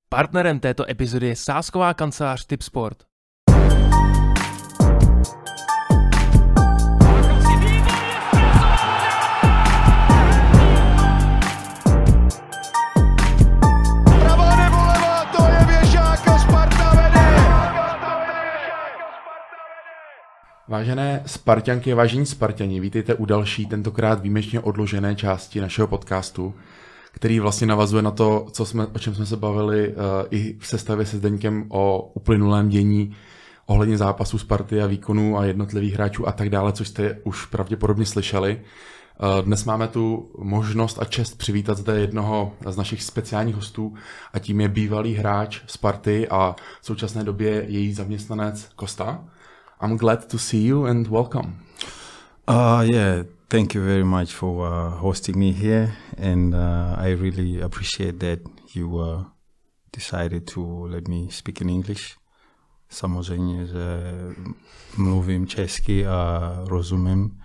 Partnerem této epizody je sázková kancelář Tipsport. Vážené Sparťanky a vážení Sparťani, vítejte u další, tentokrát výjimečně odložené části našeho podcastu, který vlastně navazuje na to, o čem jsme se bavili i v sestavě se Zdeňkem o uplynulém dění ohledně zápasů Sparty a výkonů a jednotlivých hráčů a tak dále, což jste už pravděpodobně slyšeli. Dnes máme tu možnost a čest přivítat zde jednoho z našich speciálních hostů a tím je bývalý hráč Sparty a v současné době její zaměstnanec Kosta. I'm glad to see you and welcome. Yeah, thank you very much for hosting me here, and I really appreciate that you decided to let me speak in English. Samozřejmě, že mluvím česky a rozumím.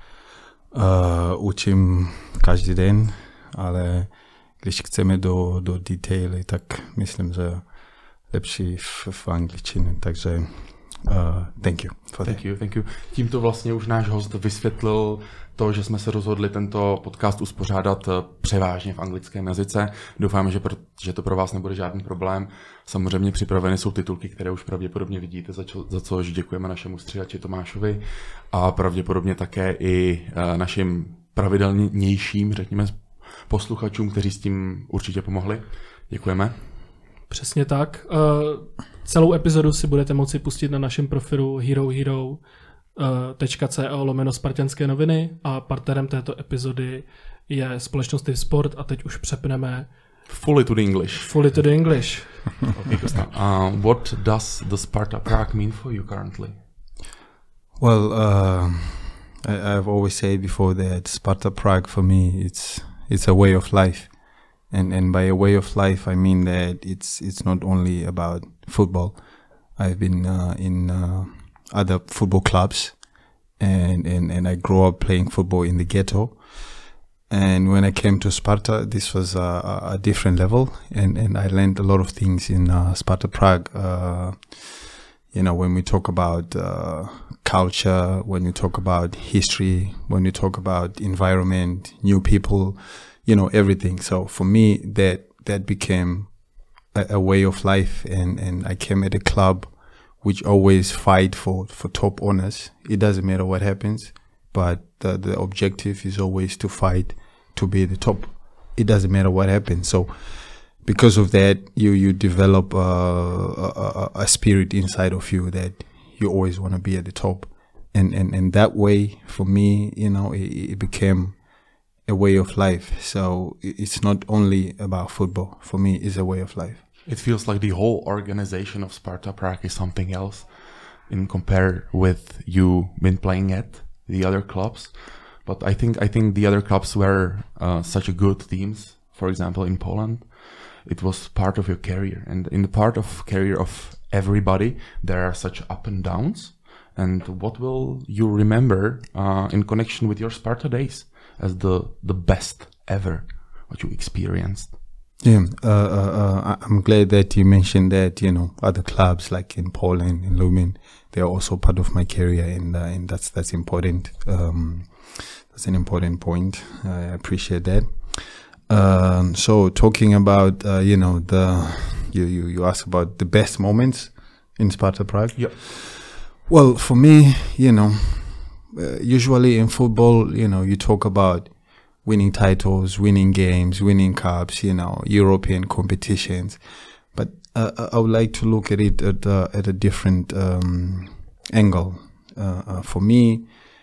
Učím každý den, ale když chceme do detaily, tak myslím, že lepší v angličtině, takže thank you for that. Thank you. Tímto vlastně už náš host vysvětlil to, že jsme se rozhodli tento podcast uspořádat převážně v anglickém jazyce. Doufám, že to pro vás nebude žádný problém. Samozřejmě připraveny jsou titulky, které už pravděpodobně vidíte, za což děkujeme našemu stříhači Tomášovi a pravděpodobně také i našim pravidelnějším, řekněme, posluchačům, kteří s tím určitě pomohli. Děkujeme. Přesně tak. Celou epizodu si budete moci pustit na našem profilu herohero.co/spartanské noviny a partnerem této epizody je společnost Tipsport a teď už přepneme Fully to the English. Okay, what does the Sparta Prague mean for you currently? Well, I've always said before that Sparta Prague for me it's a way of life. And by a way of life, I mean that it's not only about football. I've been in other football clubs, and I grew up playing football in the ghetto. And when I came to Sparta, this was a different level, and I learned a lot of things in Sparta Prague. When we talk about culture, when we talk about history, when we talk about environment, new people, everything. So for me, that became a way of life, and I came at a club which always fight for top honors. It doesn't matter what happens, but the objective is always to fight to be the top. It doesn't matter what happens. So because of that, you develop a spirit inside of you that you always want to be at the top, and that way for me, it became a way of life. So it's not only about football. For me, it's a way of life. It feels like the whole organization of Sparta Prague is something else in compare with you been playing at the other clubs. But I think the other clubs were such a good teams. For example, in Poland, it was part of your career, and in the part of career of everybody, there are such up and downs. And what will you remember in connection with your Sparta days as the best ever what you experienced? Yeah, I'm glad that you mentioned that, other clubs like in Poland, in Lublin, they are also part of my career, and that's important. That's an important point. I appreciate that. So talking about, you asked about the best moments in Sparta Prague. Yeah. Well, for me, usually in football, you talk about winning titles, winning games, winning cups, European competitions. But I would like to look at it at a different angle. For me,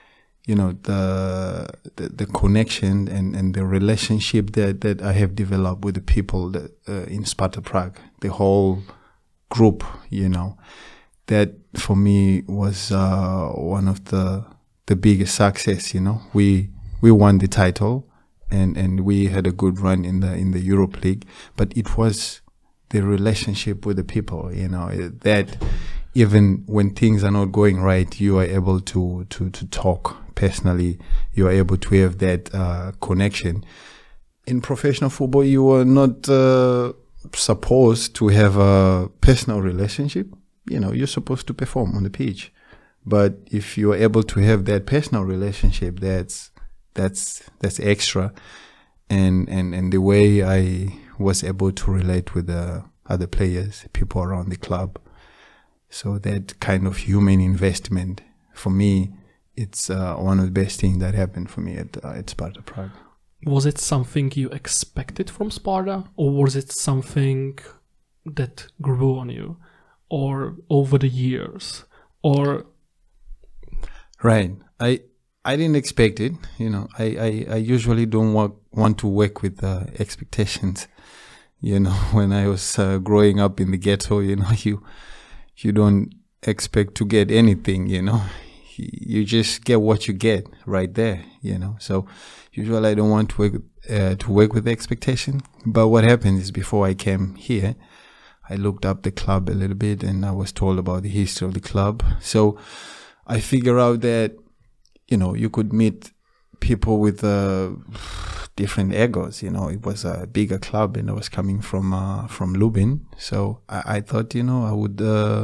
the connection and the relationship that I have developed with the people that in Sparta Prague, the whole group, that for me was one of the biggest success. We won the title, and we had a good run in the Europe League, but it was the relationship with the people, that even when things are not going right, you are able to talk personally. You are able to have that connection. In professional football, you are not supposed to have a personal relationship. You're supposed to perform on the pitch. But if you're able to have that personal relationship, that's extra. And the way I was able to relate with the other players, people around the club. So that kind of human investment, for me, it's one of the best things that happened for me at Sparta Prague. Was it something you expected from Sparta, or was it something that grew on you, or over the years, or? Right. I didn't expect it. I usually don't want to work with expectations. When I was growing up in the ghetto, you don't expect to get anything. You just get what you get right there. So usually I don't want to work with expectation. But what happened is, before I came here, I looked up the club a little bit, and I was told about the history of the club. So I figured out that you could meet people with different egos. It was a bigger club, and I was coming from Lubin. So I thought, I would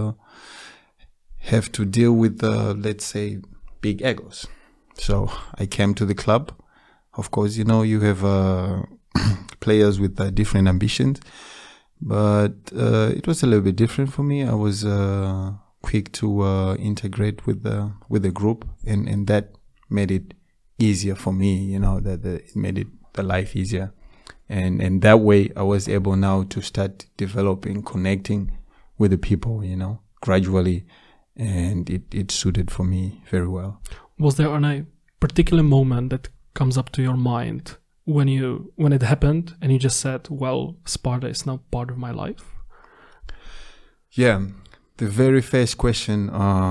have to deal with, let's say, big egos. So I came to the club. Of course, you have players with different ambitions, but it was a little bit different for me. I was quick to integrate with the group, and that made it easier for me. It made the life easier, and that way I was able now to start developing, connecting with the people, gradually, and it suited for me very well. Was there a particular moment that comes up to your mind when it happened and you just said, well, Sparta is now part of my life? Yeah, the very first question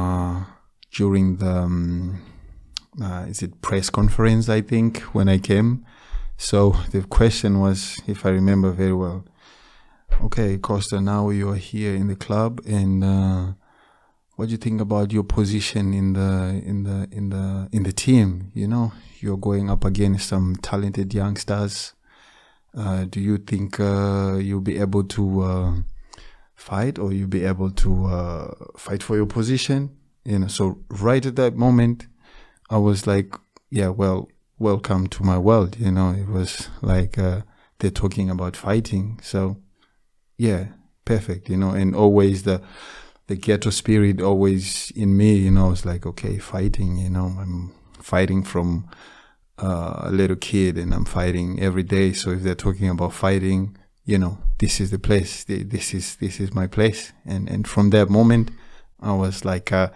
during the is it press conference, I think, when I came. So the question was, if I remember very well, okay, Costa, now you are here in the club, and what do you think about your position in the team? You're going up against some talented youngsters. Do you think you'll be able to fight, or you'll be able to fight for your position? So right at that moment, I was like, yeah, well, welcome to my world. It was like they're talking about fighting. So yeah, perfect. And always the ghetto spirit always in me. I was like, okay, fighting. I'm fighting from a little kid, and I'm fighting every day. So if they're talking about fighting, this is the place. This is my place. And from that moment, I was like, I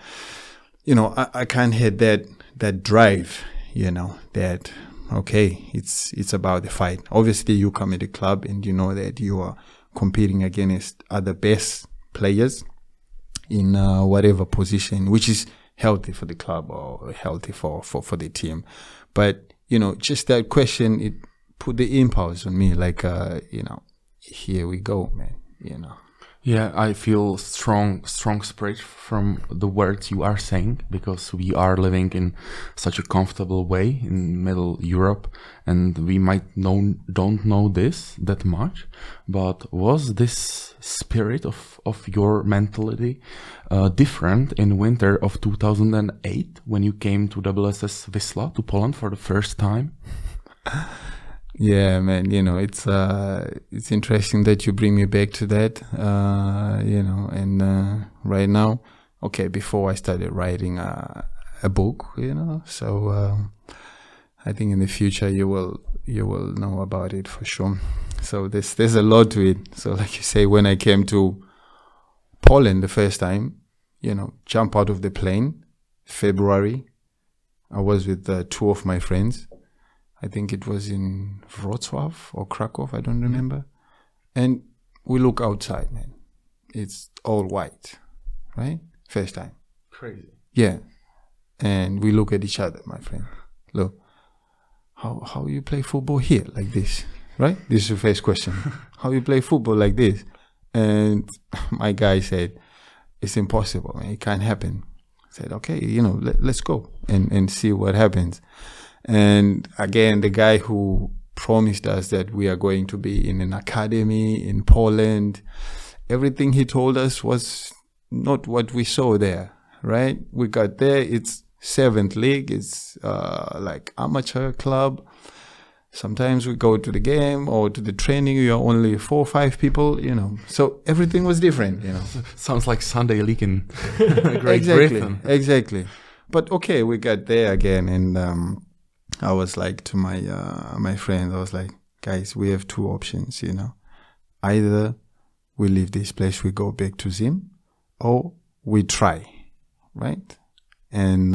can't hit that drive, that, okay, it's about the fight. Obviously, you come at the club and you know that you are competing against other best players in whatever position, which is healthy for the club or healthy for the team. But, just that question, it put the impulse on me, like, here we go, man, Yeah, I feel strong spirit from the words you are saying, because we are living in such a comfortable way in Middle Europe, and we might don't know this that much. But was this spirit of your mentality different in winter of 2008 when you came to WSS Wisla, to Poland for the first time? Yeah, man, it's interesting that you bring me back to that, and right now, okay, before I started writing a book, so I think in the future you will know about it for sure. So there's a lot to it. So like you say, when I came to Poland the first time, jump out of the plane, February, I was with two of my friends. I think it was in Wrocław or Krakow, I don't remember. And we look outside, man. It's all white, right? First time. Crazy. Yeah. And we look at each other, my friend. Look, how you play football here like this, right? This is the first question. How you play football like this? And my guy said, it's impossible, man. It can't happen. I said, okay, let's go and see what happens. And again, the guy who promised us that we are going to be in an academy in Poland. Everything he told us was not what we saw there, right? We got there, it's 7th league, it's like amateur club. Sometimes we go to the game or to the training, you are only 4 or 5 people, you know. So everything was different, you know. Sounds like Sunday League in Great Britain. Exactly. But okay, we got there again, and I was like to my my friends, I was like, guys, we have 2 options, you know. Either we leave this place, we go back to Zim, or we try, right? And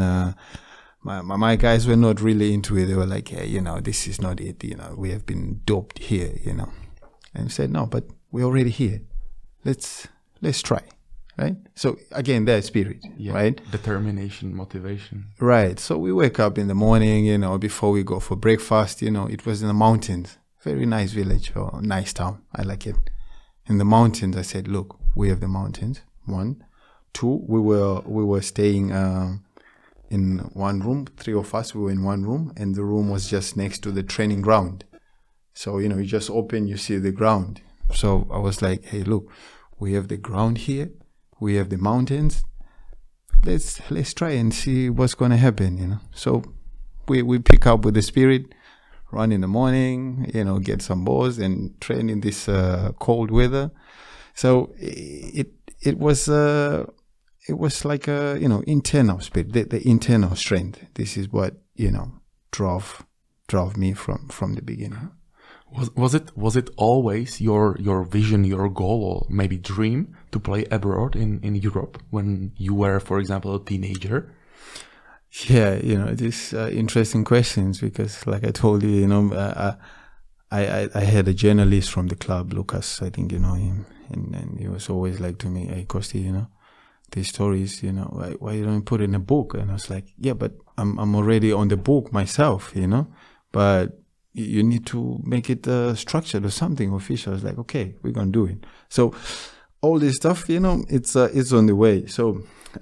my guys were not really into it. They were like, hey, you know, this is not it. You know, we have been doped here, you know. And I said, no, but we're already here. Let's try, right? So again, that spirit, right? Determination, motivation. Right. So we wake up in the morning, you know, before we go for breakfast, you know, it was in the mountains. Very nice village or nice town. I like it. In the mountains, I said, look, we have the mountains. 1. 2, we were staying in one room. 3 of us, we were in one room, and the room was just next to the training ground. So, you know, you just open, you see the ground. So I was like, hey, look, we have the ground here, we have the mountains. Let's try and see what's going to happen, you know. So we pick up with the spirit, run in the morning, you know, get some balls and train in this cold weather. So it was like a, you know, internal spirit, the internal strength. This is what, you know, drove me from the beginning. Was it always your vision, your goal, or maybe dream to play abroad in Europe when you were, for example, a teenager? Yeah, you know, these interesting questions, because like I told you, you know, I had a journalist from the club, Lucas, I think you know him, and he was always like to me, hey, Kosti, you know, these stories, you know, why you don't put it in a book? And I was like, yeah, but I'm already on the book myself, you know, but you need to make it structured or something official. I was like, okay, we're going to do it. So all this stuff, you know, it's on the way. So,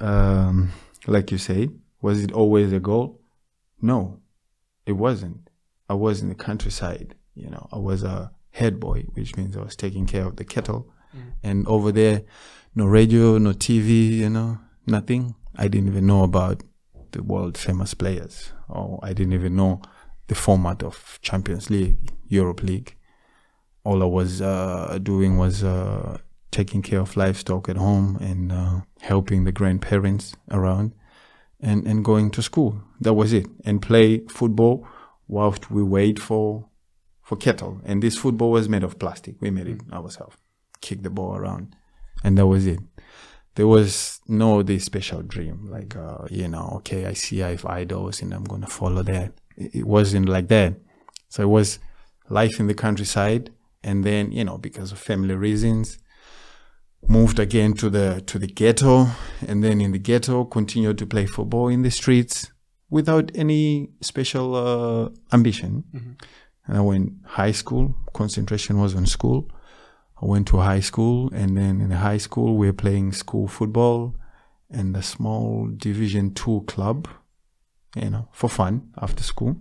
like you say, was it always a goal? No, it wasn't. I was in the countryside, you know, I was a head boy, which means I was taking care of the kettle. And over there, no radio, no TV, you know, nothing. I didn't even know about the world famous players, or I didn't even know the format of Champions League, Europe League. All I was doing was taking care of livestock at home and helping the grandparents around and going to school. That was it. And play football whilst we wait for kettle. And this football was made of plastic. We made it ourselves. Kick the ball around. And that was it. There was no this special dream, like, you know, okay, I have idols and I'm going to follow that. It wasn't like that. So it was life in the countryside, and then, you know, because of family reasons, moved again to the ghetto, and then in the ghetto continued to play football in the streets without any special ambition. And I went high school. Concentration was on school. I went to high school, and then in the high school we were playing school football and a small Division 2 club, you know, for fun after school.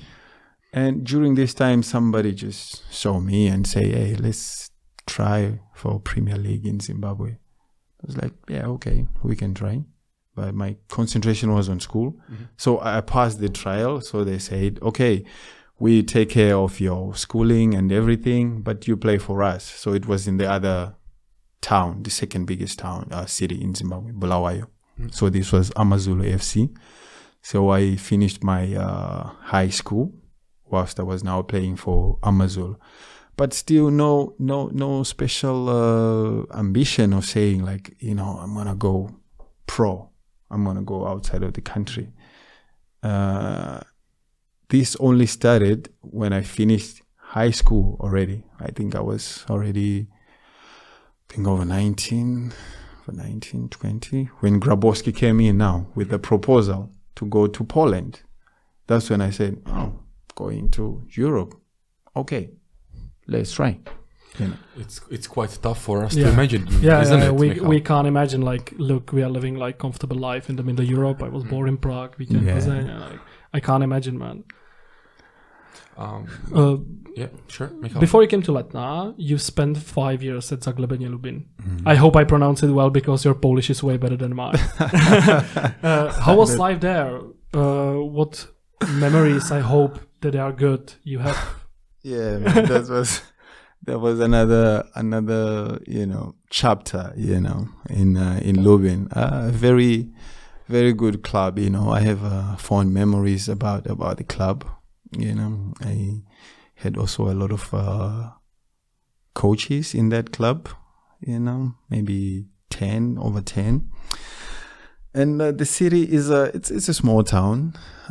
And during this time, somebody just saw me and say, hey, let's try for Premier League in Zimbabwe. I was like, yeah, okay, we can try. But my concentration was on school. So I passed the trial. So they said, okay, we take care of your schooling and everything, but you play for us. So it was in the other town, the second biggest town, city in Zimbabwe, Bulawayo. So this was Amazulu FC. So I finished my high school whilst I was now playing for Amazulu. But still no special ambition of saying like, you know, I'm going to go pro. I'm going to go outside of the country. This only started when I finished high school already. I think I was already, over 19, 20, when Grabowski came in now with the proposal to go to Poland. That's when I said, oh, going to Europe. Okay, let's try. You know. It's quite tough for us to imagine, isn't it? We can't imagine, like, look, we are living like comfortable life in the middle of Europe. I was born in Prague. We can like, I can't imagine, man. Yeah, sure. Michal. Before you came to Letná, you spent 5 years at Zagłębie Lubin. I hope I pronounce it well because your Polish is way better than mine. How was life there? What memories, I hope that they are good, you have? Yeah, man, that was another chapter, in Lubin. Very, very good club. I have fond memories about the club. I had also a lot of coaches in that club. Maybe 10 over 10. And the city is it's a small town.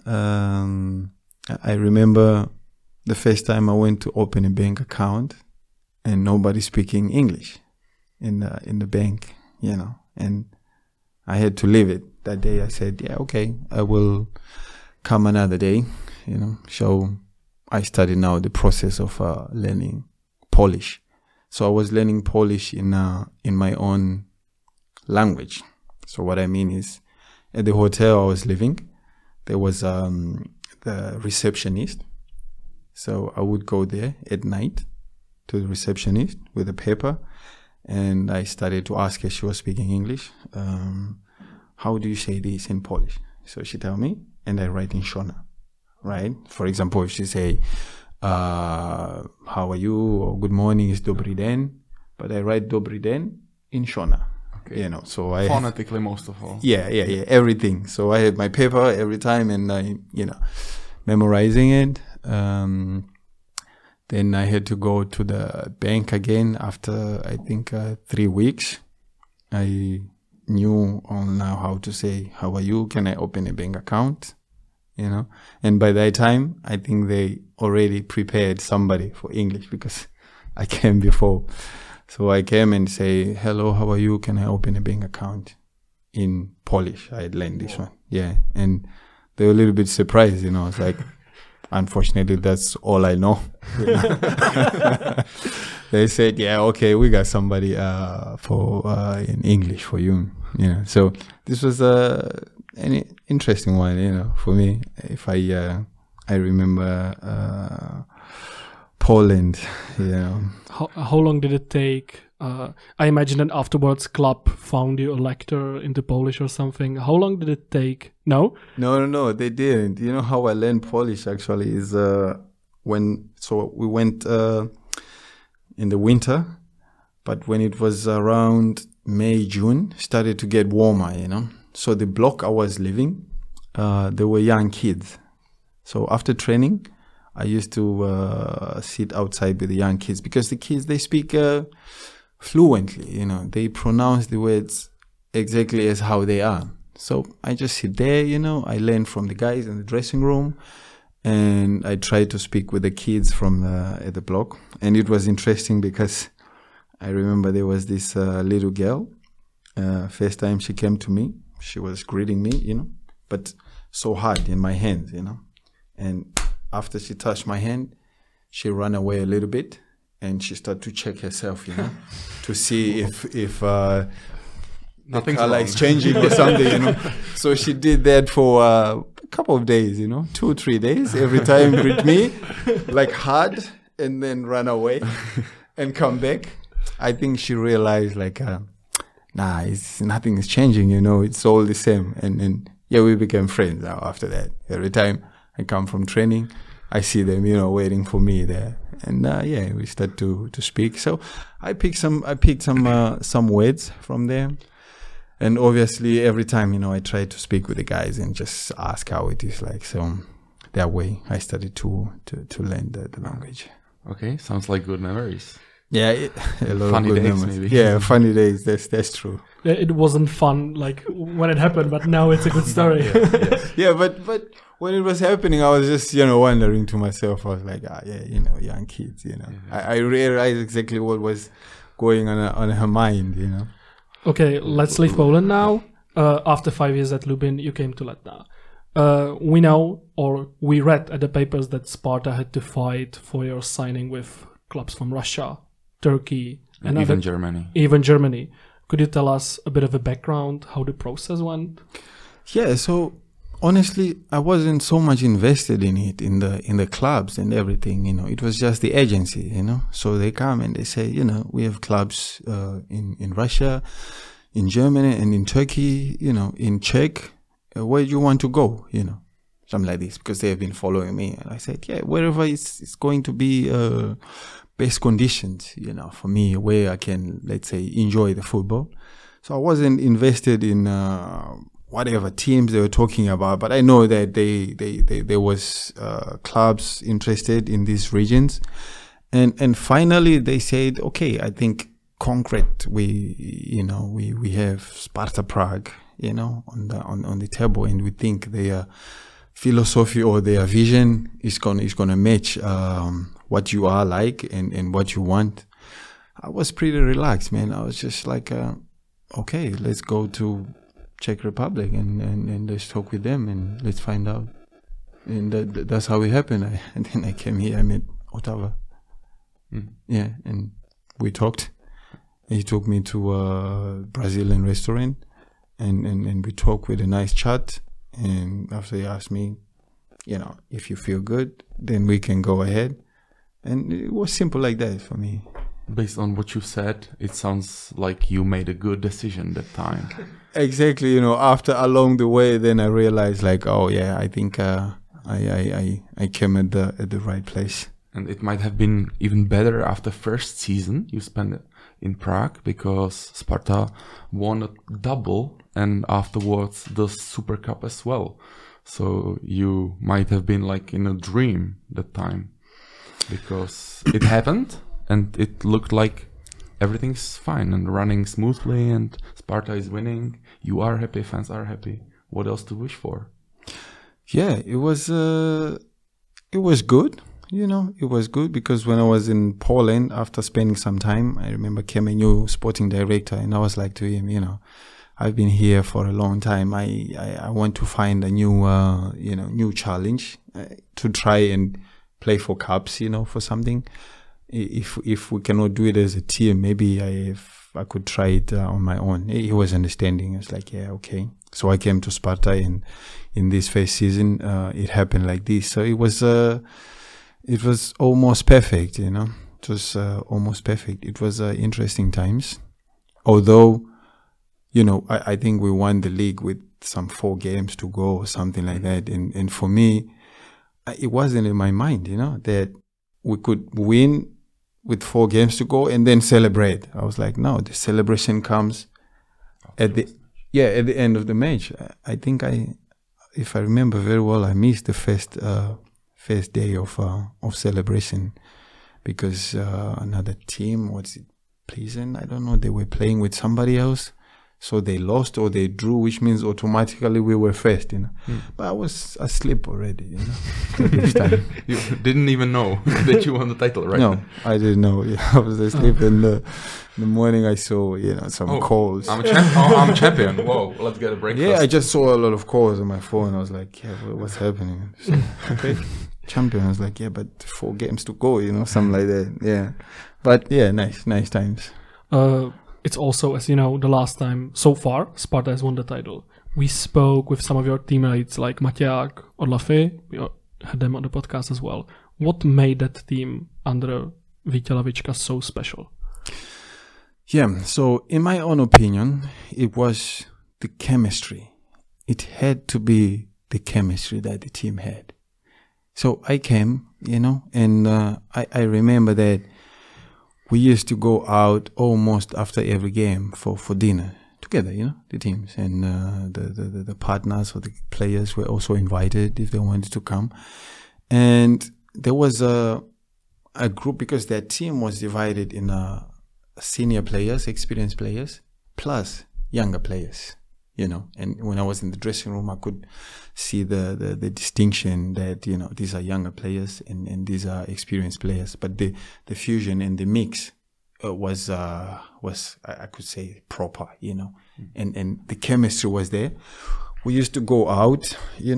I remember the first time I went to open a bank account, and nobody speaking English in the bank, and I had to leave it that day. I said, yeah, okay, I will come another day, So I started now the process of learning Polish. So I was learning Polish in my own language. So what I mean is, at the hotel I was living, there was the receptionist. So I would go there at night to the receptionist with a paper, and I started to ask her. She was speaking English. How do you say this in Polish? So she tell me, and I write in Shona, right? For example, if she say, how are you, or good morning is dobry den, but I write dobry den in Shona. Okay. So I phonetically most of all. Yeah, everything. So I had my paper every time, and I, memorizing it. Then I had to go to the bank again after, I think, 3 weeks. I knew now how to say, how are you? Can I open a bank account? And by that time, I think they already prepared somebody for English because I came before. So I came and say, hello, how are you? Can I open a bank account in Polish? I had learned this one. Yeah. And they were a little bit surprised, It's like, unfortunately, that's all I know. They said, yeah, okay, we got somebody for in English for you. So this was an interesting one, for me. If I remember Poland, How long did it take? I imagine that afterwards club found you a lecture into Polish or something. How long did it take? No, they didn't. You know how I learned Polish actually is we went in the winter, but when it was around May, June, started to get warmer, So the block I was living, there were young kids. So after training, I used to sit outside with the young kids because the kids, they speak fluently, They pronounce the words exactly as how they are. So I just sit there, I learn from the guys in the dressing room, and I try to speak with the kids from at the block. And it was interesting because I remember there was this little girl. First time she came to me, she was greeting me, but so hard in my hands, And after she touched my hand, she ran away a little bit, and she started to check herself, to see if nothing is changing or something, So she did that for a couple of days, 2-3 days. Every time greet me, like hard, and then run away and come back. I think she realized nothing is changing, It's all the same. And we became friends now after that. Every time I come from training, I see them, waiting for me there. And we start to speak. So I picked some words from there. And obviously every time, I try to speak with the guys and just ask how it is like. So that way I started to learn the language. Okay, sounds like good memories. Yeah, a lot funny of good days memories. maybe. Yeah, funny days. That's true. It wasn't fun like when it happened, but now it's a good story. Yeah, but when it was happening, I was just wondering to myself. I was like, young kids. I realized exactly what was going on her mind. Okay, let's leave Poland now. After 5 years at Lubin, you came to Letná. We know, or we read at the papers, that Sparta had to fight for your signing with clubs from Russia, Turkey, and even Germany. Even Germany. Could you tell us a bit of a background, how the process went? Yeah, so honestly, I wasn't so much invested in it, in the clubs and everything. It was just the agency. So they come and they say, we have clubs in Russia, in Germany, and in Turkey. In Czech, where do you want to go? Something like this, because they have been following me. And I said, yeah, wherever it's going to be best conditions, for me, where I can, let's say, enjoy the football. So I wasn't invested in whatever teams they were talking about, but I know that there was clubs interested in these regions, and finally they said, okay, I think concrete, we have Sparta Prague, on the table, and we think their philosophy or their vision is gonna match what you are like and what you want. I was pretty relaxed, man. I was just like, okay, let's go to Czech Republic and let's talk with them and let's find out. And that's how it happened. And then I came here. I met Otava. Yeah, and we talked. He took me to a Brazilian restaurant, and we talked with a nice chat. And after he asked me, if you feel good, then we can go ahead. And it was simple like that for me. Based on what you said, it sounds like you made a good decision that time. Exactly. After along the way, then I realized, like, oh yeah, I think I came at the right place. And it might have been even better after first season you spent in Prague, because Sparta won a double and afterwards the Super Cup as well. So you might have been like in a dream that time, because it happened and it looked like everything's fine and running smoothly and Sparta is winning. You are happy, fans are happy. What else to wish for? Yeah, it was good. It was good because when I was in Poland, after spending some time, I remember came a new sporting director, and I was like to him, I've been here for a long time. I want to find a new challenge to try and play for cups, for something. If we cannot do it as a team, maybe I could try it on my own. He was understanding. He was like, yeah, okay. So I came to Sparta, and in this first season, it happened like this. So it was almost perfect, It was almost perfect. It was interesting times. Although, I think we won the league with some 4 games to go or something like that. And for me, it wasn't in my mind, that we could win with 4 games to go and then celebrate. I was like, no, the celebration comes at the end of the match. I think if I remember very well, I missed the first day of celebration because another team, what's it, Pleasant? I don't know. They were playing with somebody else, so they lost or they drew, which means automatically we were first. But I was asleep already. At this time. You didn't even know that you won the title, right? No, I didn't know. I was asleep, and in the morning I saw some calls. I'm champion. Whoa, let's get a breakfast. Yeah, I just saw a lot of calls on my phone. I was like, yeah, what's happening? So, okay. Champion. I was like, yeah, but 4 games to go, something like that. Yeah. But yeah, nice times. It's also, as you know, the last time so far Sparta has won the title. We spoke with some of your teammates like Maťák or Lafay. We had them on the podcast as well. What made that team under Vítě Lavička so special? Yeah, so in my own opinion, it was the chemistry. It had to be the chemistry that the team had. So I came, and I remember that we used to go out almost after every game for dinner together, the teams. And the partners or the players were also invited if they wanted to come. And there was a group, because that team was divided in senior players, experienced players, plus younger players. And when I was in the dressing room, I could see the distinction that, these are younger players and these are experienced players. But the fusion and the mix was I could say proper, and the chemistry was there. We used to go out,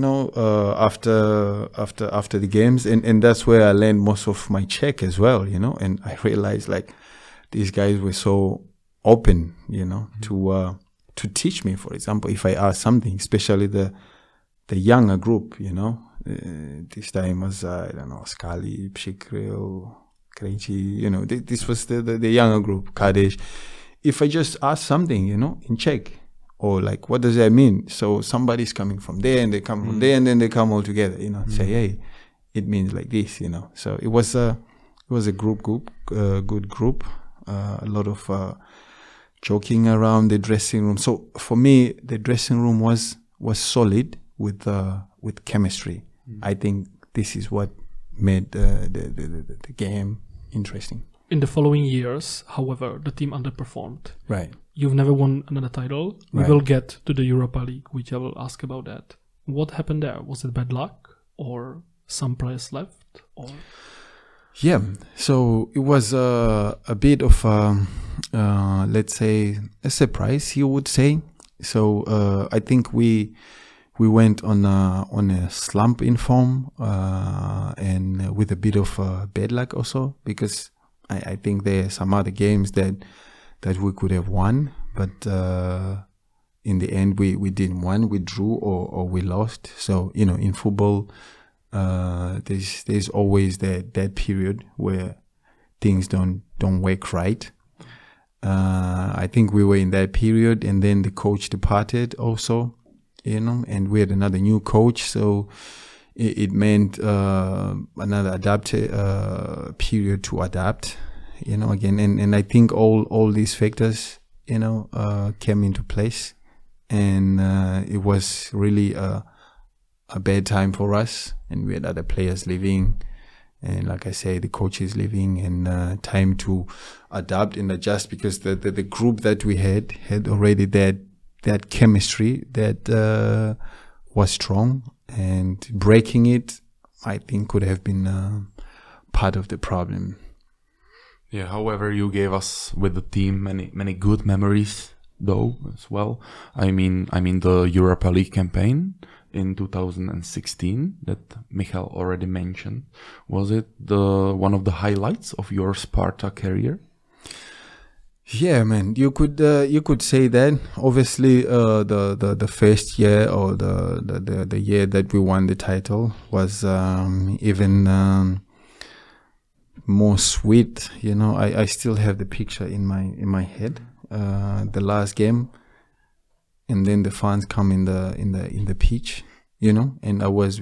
after the games, and that's where I learned most of my Czech as well, and I realized like these guys were so open, to teach me. For example, if I asked something, especially the younger group, you know. This time was, I don't know, Scali, Pshikril, Krejci, you know, this was the younger group, Kadesh. If I just ask something, you know, in Czech, or like, what does that mean? So somebody's coming from there and they come from there and then they come all together, you know, say, hey, it means like this, you know. So it was a good group, a lot of joking around the dressing room. So for me, the dressing room was solid with chemistry. I think this is what made the game interesting. In the following years, however, the team underperformed. Right. You've never won another title. We will get to the Europa League, which I will ask about that. What happened there? Was it bad luck or some players left? Or yeah, so it was a bit of let's say a surprise, you would say. So I think we went on a slump in form and with a bit of bad luck also, because I think there are some other games that we could have won, but in the end we didn't win. We drew or we lost. So, you know, in football, there's always that period where things don't work right. I think we were in that period, and then the coach departed also, you know, and we had another new coach, so it meant another period to adapt, you know, again, and I think all these factors, you know, came into place, and it was really a bad time for us, and we had other players leaving, and like I say, the coach is leaving, and time to adapt and adjust, because the group that we had already that chemistry that was strong, and breaking it, I think, could have been part of the problem. Yeah. However, you gave us with the team many good memories, though, as well. I mean the Europa League campaign in 2016 that Michal already mentioned. Was it one of the highlights of your Sparta career? Yeah, man, you could say that. Obviously, the first year, or the year that we won the title, was even more sweet. You know, I still have the picture in my head. The last game, and then the fans come in the pitch, you know, and I was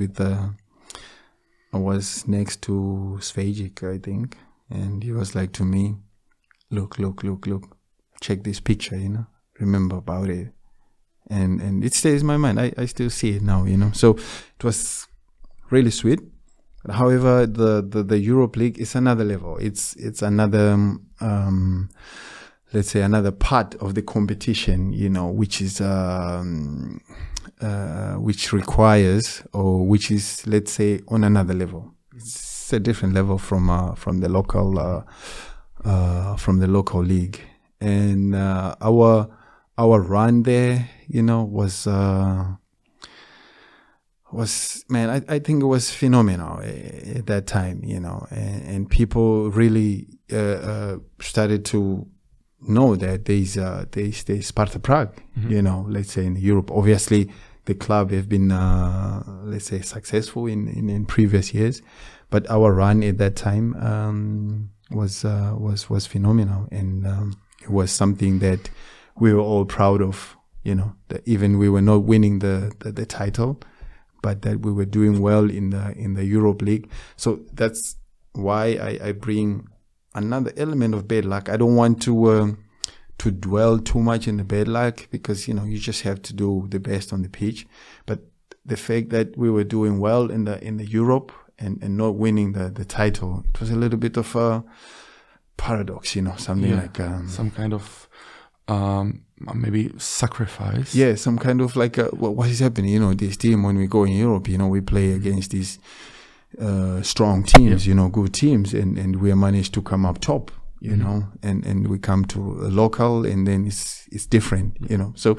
next to Svajic, I think, and he was like to me, look, check this picture, you know, remember about it. And it stays in my mind. I still see it now, you know. So it was really sweet. However, the Europe League is another level. It's another, let's say, another part of the competition, you know, which is, which requires, or which is, let's say, on another level. It's a different level from the local league, and our run there, you know, was man, I think it was phenomenal at that time, you know, and people really started to know that there's Sparta Prague, you know, let's say in Europe. Obviously, the club have been let's say successful in previous years, but our run at that time was phenomenal, and it was something that we were all proud of, you know, that even we were not winning the title, but that we were doing well in the Europe League. So that's why I bring another element of bad luck. I don't want to dwell too much in the bad luck, because, you know, you just have to do the best on the pitch. But the fact that we were doing well in the Europe and not winning the title, it was a little bit of a paradox, you know, something like some kind of maybe sacrifice. Yeah, some kind of like what is happening, you know, this team, when we go in Europe, you know, we play against these strong teams, you know, good teams, and we managed to come up top, you know, and we come to a local, and then it's different, you know. So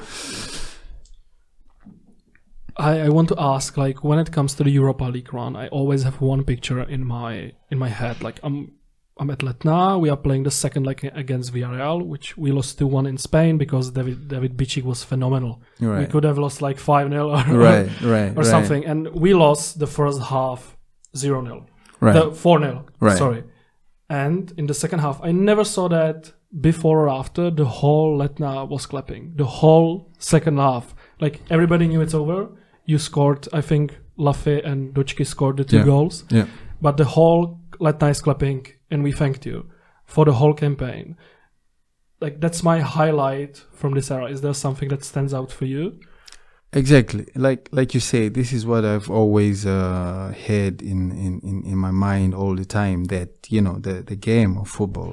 I want to ask, like, when it comes to the Europa League run, I always have one picture in my head. Like, I'm at Letna. We are playing the second leg against Villarreal, which we lost 2-1 in Spain because David Bichik was phenomenal. Right. We could have lost like 5-0 or something. And we lost the first half 0-0. Right. 4-0. Right. Sorry. And in the second half, I never saw that before or after. The whole Letna was clapping. The whole second half. Like everybody knew it's over. You scored, I think, Lafay and Dočky scored the 2 goals. Yeah. But the whole Letna is clapping, and we thanked you for the whole campaign. Like, that's my highlight from this era. Is there something that stands out for you? Exactly. Like you say, this is what I've always had in my mind all the time, that, you know, the game of football,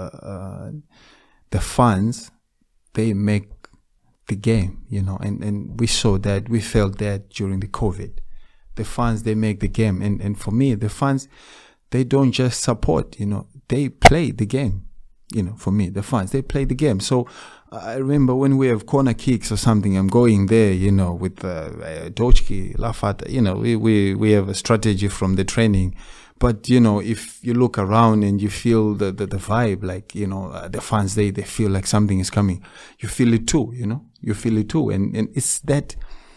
the fans, they make the game, you know, and we saw that, we felt that during the COVID. The fans, they make the game. And for me, the fans, they don't just support, you know, they play the game. You know, for me, the fans, they play the game. So I remember when we have corner kicks or something, I'm going there, you know, with Dočky, Lafata, you know, we have a strategy from the training. But, you know, if you look around and you feel the vibe, like, you know, the fans, they feel like something is coming. You feel it too, you know, you feel it too. And it's that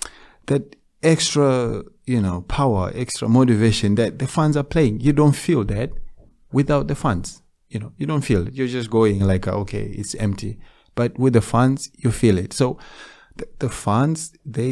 extra, you know, power, extra motivation that the fans are playing. You don't feel that without the fans. You know, you don't feel it. You're just going like, okay, it's empty. But with the fans, you feel it. So the fans,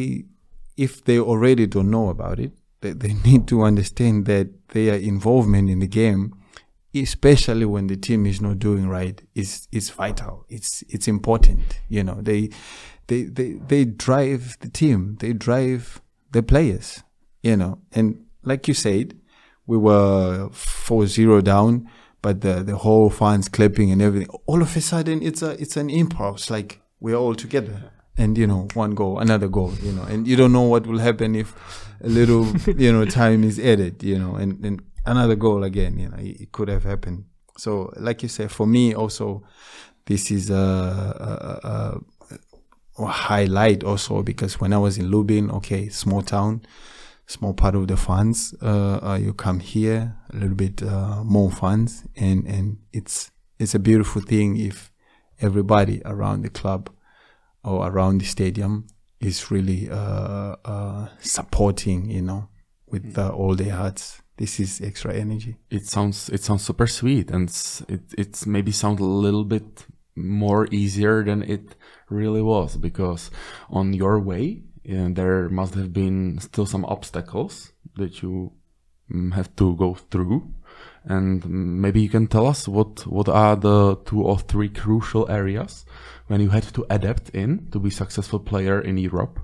if they already don't know about it, they need to understand that their involvement in the game, especially when the team is not doing right, is vital. It's important. You know, they drive the team. They drive the players. You know, and like you said, we were 4-0 down. But the whole fans clapping and everything, all of a sudden it's an impulse, like we're all together. And, you know, one goal, another goal, you know, and you don't know what will happen if a little, you know, time is added, you know, and another goal again, you know, it could have happened. So, like you said, for me also, this is a highlight also, because when I was in Lubin, okay, small town, small part of the funds, you come here, a little bit more funds, and it's a beautiful thing if everybody around the club or around the stadium is really supporting, you know, with all their hearts. This is extra energy. It sounds super sweet, and it's maybe sound a little bit more easier than it really was, because on your way, and there must have been still some obstacles that you have to go through. And maybe you can tell us what are the 2 or 3 crucial areas when you had to adapt in to be successful player in Europe?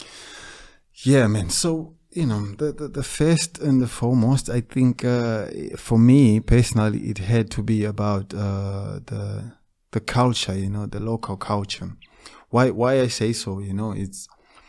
Yeah, man. So, you know, the first and the foremost, I think, for me personally, it had to be about the culture, you know, the local culture. Why I say so, you know, it's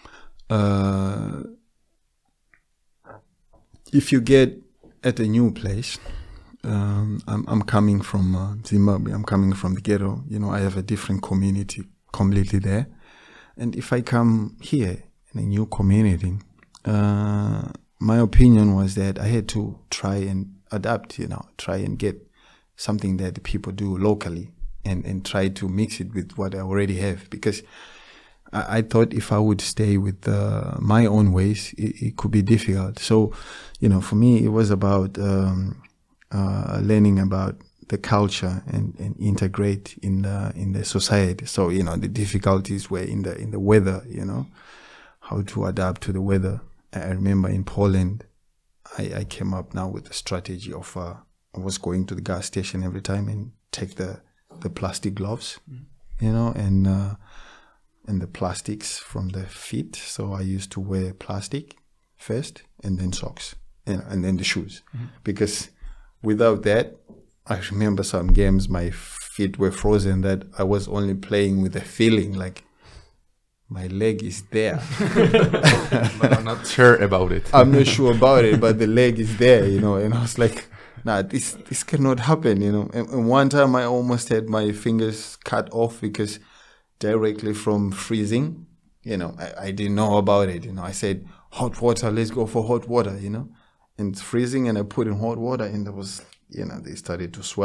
if you get at a new place, I'm coming from Zimbabwe, I'm coming from the ghetto, you know, I have a different community completely there. And if I come here in a new community, my opinion was that I had to try and adapt, you know, try and get something that the people do locally and try to mix it with what I already have, because I thought if I would stay with my own ways, it could be difficult. So, you know, for me, it was about learning about the culture and integrate in the society. So, you know, the difficulties were in the weather, you know, how to adapt to the weather. I remember in Poland, I came up now with the strategy of I was going to the gas station every time and take the plastic gloves, you know, and the plastics from the feet. So I used to wear plastic first and then socks, you know, and then the shoes. Because without that, I remember some games my feet were frozen, that I was only playing with the feeling like my leg is there. But I'm not sure about it. I'm not sure about it, but the leg is there, you know, and I was like, nah, this cannot happen, you know. And one time I almost had my fingers cut off because directly from freezing, you know, I didn't know about it, you know. I said, hot water, let's go for hot water, you know. And it's freezing, and I put in hot water, and there was, you know, they started to swell.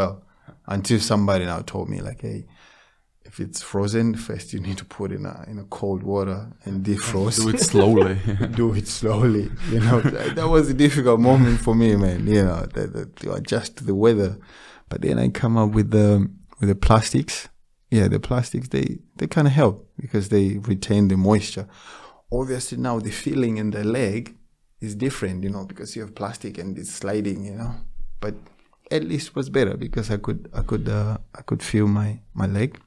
Until somebody now told me like, hey, if it's frozen, first you need to put in a cold water and defrost. Do it slowly. Do it slowly. You know, that was a difficult moment for me, man. You know, to adjust to the weather. But then I come up with the plastics. Yeah, the plastics, they kind of help because they retain the moisture. Obviously now the feeling in the leg is different, you know, because you have plastic and it's sliding, you know. But at least it was better because I could feel my leg.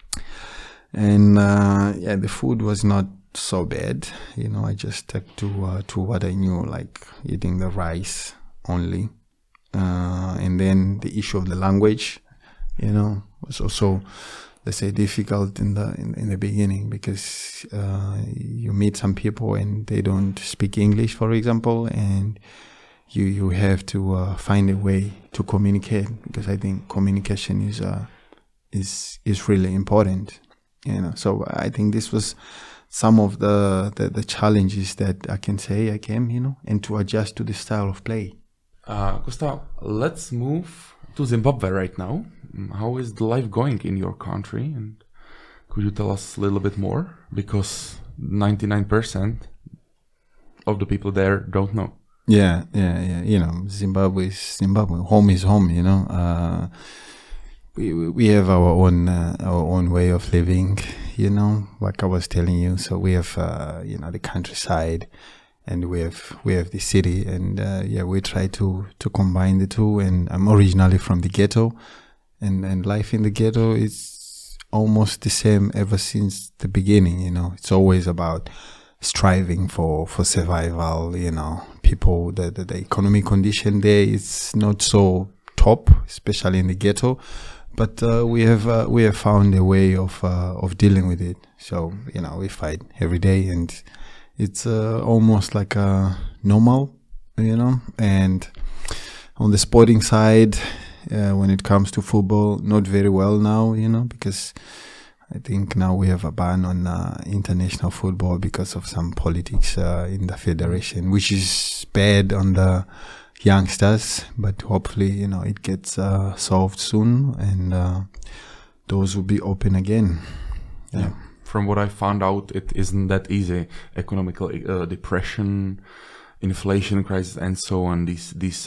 And yeah, the food was not so bad, you know. I just stuck to what I knew, like eating the rice only. And then the issue of the language, you know, was also, let's say, difficult in the beginning because you meet some people and they don't speak English, for example, and you have to find a way to communicate, because I think communication is really important, you know. So I think this was some of the challenges that I can say I came, you know, and to adjust to the style of play. Gustav, let's move to Zimbabwe right now. How is the life going in your country? And could you tell us a little bit more? Because 99% of the people there don't know. Yeah. You know, Zimbabwe is Zimbabwe. Home is home, you know. We have our own way of living, you know, like I was telling you. So we have, you know, the countryside, and we have the city, and yeah, we try to combine the two. And I'm originally from the ghetto, and life in the ghetto is almost the same ever since the beginning. You know, it's always about striving for survival. You know, people, the economic condition there is not so top, especially in the ghetto, but we have found a way of dealing with it. So, you know, we fight every day, and it's almost like a normal, you know. And on the sporting side, when it comes to football, not very well now, you know, because I think now we have a ban on international football because of some politics in the federation, which is bad on the youngsters, but hopefully, you know, it gets solved soon, and those will be open again. Yeah. From what I found out, it isn't that easy. Economical depression, inflation crisis, and so on. These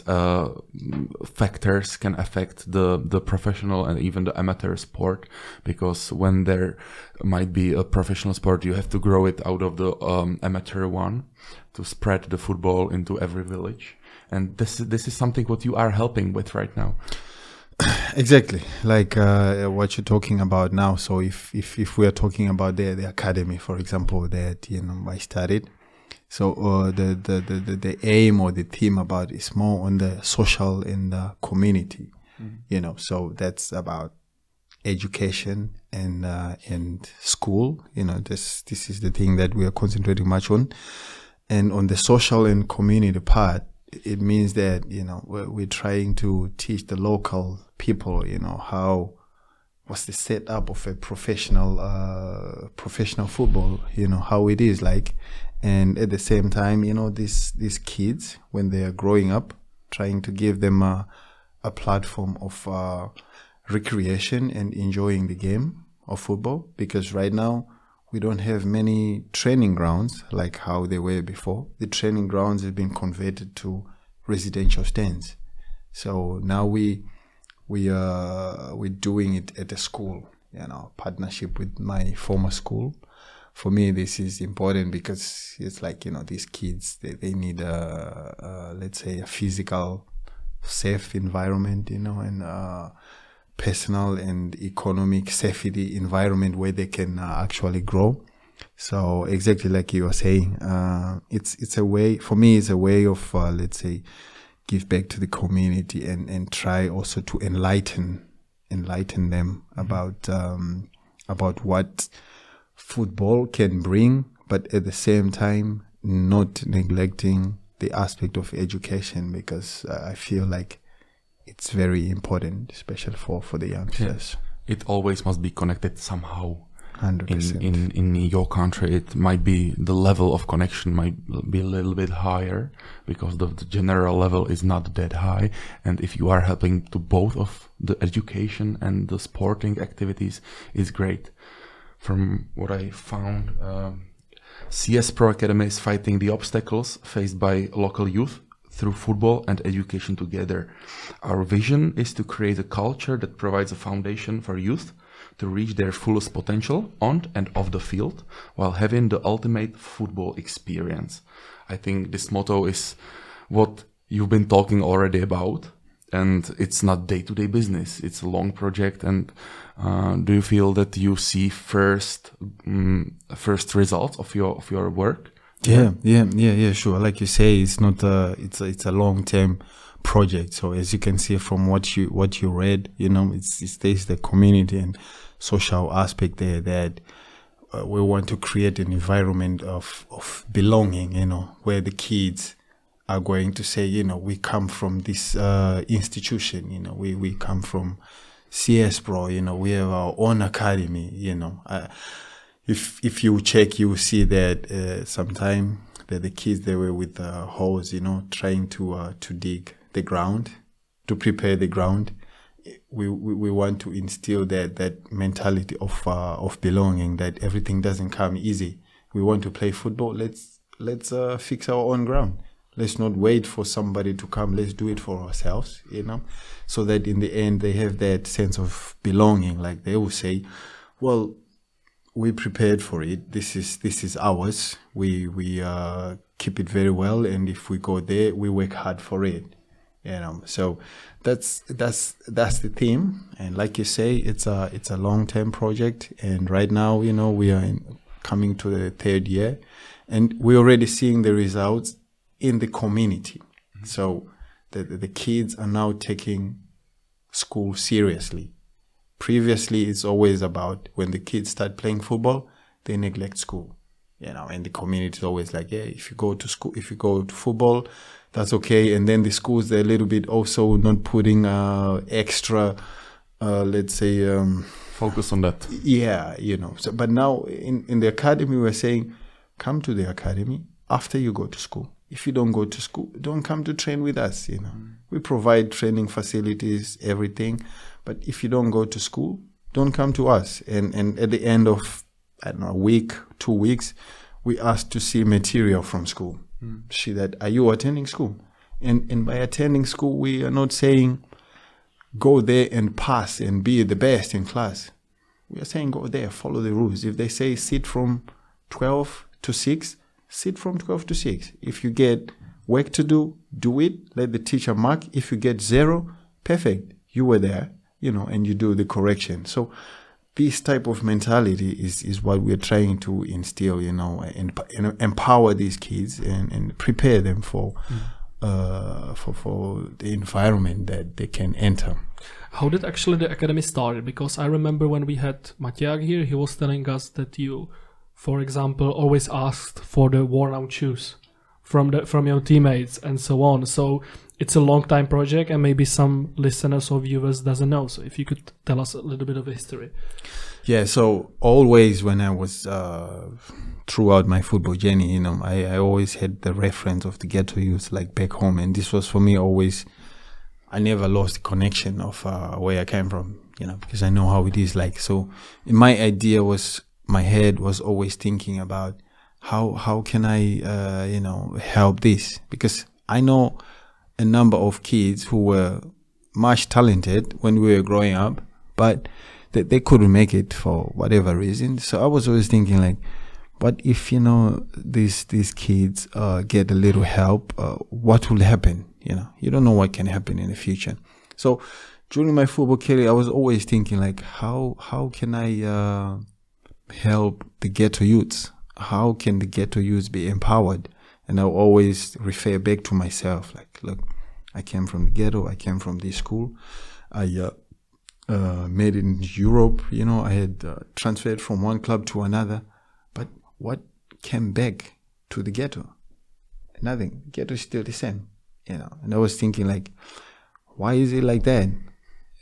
factors can affect the professional and even the amateur sport, because when there might be a professional sport, you have to grow it out of the amateur one to spread the football into every village. And this is something what you are helping with right now. Exactly, like what you're talking about now. So if we are talking about the academy, for example, that, you know, I started. So the aim or the theme about is more on the social and the community, you know. So that's about education and school. You know, this is the thing that we are concentrating much on. And on the social and community part, it means that, you know, we're trying to teach the local people, you know, what's the setup of a professional football, you know, how it is like. And at the same time, you know, these kids, when they are growing up, trying to give them a platform of recreation and enjoying the game of football, because right now we don't have many training grounds like how they were before. The training grounds have been converted to residential stands. So now we're doing it at a school, you know, partnership with my former school. For me, this is important because it's like, you know, these kids, they need let's say a physical, safe environment, you know, and personal and economic safety environment where they can actually grow. So exactly like you were saying, it's a way, for me, it's a way of, let's say, give back to the community and try also to enlighten them about what football can bring, but at the same time, not neglecting the aspect of education, because I feel like it's very important, especially for the youngsters. Yeah. It always must be connected somehow. 100%. In your country, it might be the level of connection might be a little bit higher because the general level is not that high. And if you are helping to both of the education and the sporting activities, is great. From what I found, CS Pro Academy is fighting the obstacles faced by local youth through football and education together. Our vision is to create a culture that provides a foundation for youth to reach their fullest potential on and off the field while having the ultimate football experience. I think this motto is what you've been talking already about, and it's not day-to-day business. It's a long project. And do you feel that you see first results of your work? Yeah, sure. Like you say, it's not it's a long-term project. So as you can see from what you read, there's the community and social aspect there that we want to create an environment of belonging, where the kids are going to say, we come from this institution, we come from CS Pro, we have our own academy, If you check, you will see that sometime that the kids, they were with the hose, trying to dig the ground, to prepare the ground. We want to instill that mentality of belonging, that everything doesn't come easy. We want to play football. Let's fix our own ground. Let's not wait for somebody to come. Let's do it for ourselves, so that in the end they have that sense of belonging. Like they will say, well, we prepared for it. This is ours. We keep it very well, and if we go there, we work hard for it. So that's the theme. And like you say, it's a long-term project. And right now, we are coming to the third year, and we're already seeing the results in the community. Mm-hmm. So the kids are now taking school seriously. Previously, it's always about when the kids start playing football, they neglect school, and the community is always like, yeah, if you go to school, if you go to football, that's okay. And then the schools, they're a little bit also not putting extra, let's say, focus on that. Yeah, So, but now in the academy, we're saying, come to the academy after you go to school. If you don't go to school, don't come to train with us, We provide training facilities, everything. But if you don't go to school, don't come to us. And at the end of, a week, 2 weeks, we ask to see material from school. See that, are you attending school? And by attending school, we are not saying go there and pass and be the best in class. We are saying go there, follow the rules. If they say sit from 12 to 6, sit from 12 to 6. If you get work to do, do it. Let the teacher mark. If you get 0, perfect. You were there, and you do the correction. So this type of mentality is what we're trying to instill, and empower these kids and prepare them for the environment that they can enter. How did actually the academy start? Because I remember when we had Matiak here, he was telling us that you, for example, always asked for the worn-out shoes from your teammates and so on. So it's a long-time project, and maybe some listeners or viewers doesn't know. So if you could tell us a little bit of history. Yeah, so always when I was throughout my football journey, I always had the reference of the ghetto youth, like back home. And this was for me always, I never lost the connection of where I came from, because I know how it is like. So my idea was, my head was always thinking about how can I, help this? Because I know a number of kids who were much talented when we were growing up, but they couldn't make it for whatever reason. So I was always thinking like, what if, these kids get a little help, what will happen? You don't know what can happen in the future. So during my football career, I was always thinking like, how can I help the ghetto youths? How can the ghetto youths be empowered? And I always refer back to myself, like, look, I came from the ghetto, I came from this school, I made it in Europe, I had transferred from one club to another, but what came back to the ghetto? Nothing. Ghetto is still the same, And I was thinking like, why is it like that?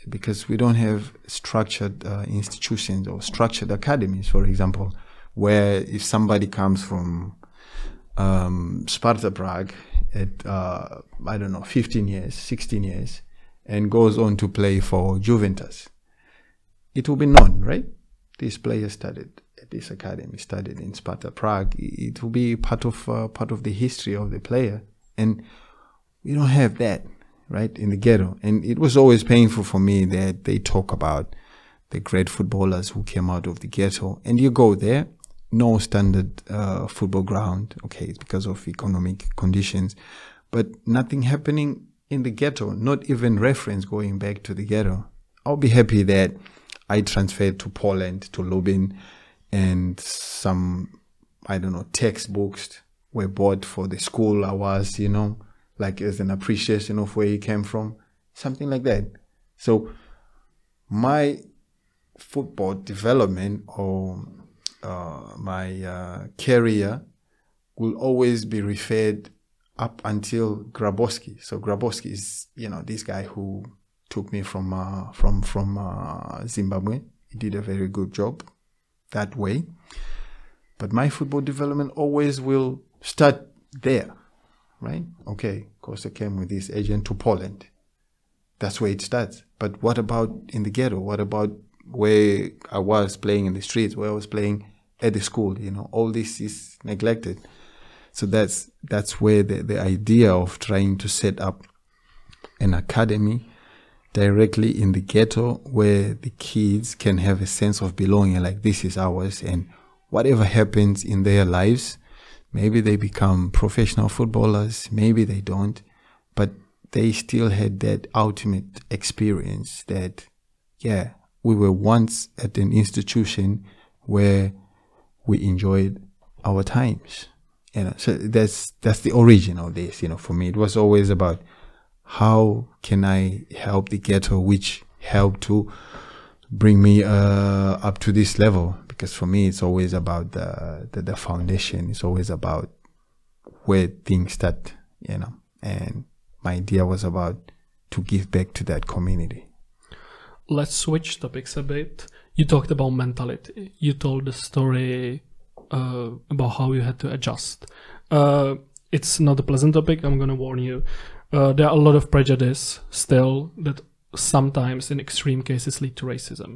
because we don't have structured institutions or structured academies, for example, where if somebody comes from Sparta Prague at, 15 years, 16 years, and goes on to play for Juventus, it will be known, right? This player studied at this academy, studied in Sparta Prague. It will be part of the history of the player. And we don't have that, right, in the ghetto. And it was always painful for me that they talk about the great footballers who came out of the ghetto. And you go there, no standard football ground. Okay, it's because of economic conditions. But nothing happening in the ghetto, not even reference going back to the ghetto. I'll be happy that I transferred to Poland, to Lubin, and some, textbooks were bought for the school I was, like as an appreciation of where he came from, something like that. So my football development or my career will always be referred up until Grabowski. So Grabowski is, this guy who took me from Zimbabwe. He did a very good job that way. But my football development always will start there, right? Okay, Costa came with his agent to Poland. That's where it starts. But what about in the ghetto? What about where I was playing in the streets, where I was playing at the school? All this is neglected. So that's where the idea of trying to set up an academy directly in the ghetto where the kids can have a sense of belonging, like this is ours, and whatever happens in their lives, maybe they become professional footballers, maybe they don't, but they still had that ultimate experience that, we were once at an institution where we enjoyed our times. So that's the origin of this. For me, it was always about how can I help the ghetto, which helped to bring me up to this level. Because for me, it's always about the foundation. It's always about where things start, And my idea was about to give back to that community. Let's switch topics a bit. You talked about mentality. You told the story about how you had to adjust. It's not a pleasant topic, I'm going to warn you. There are a lot of prejudice still that sometimes in extreme cases lead to racism.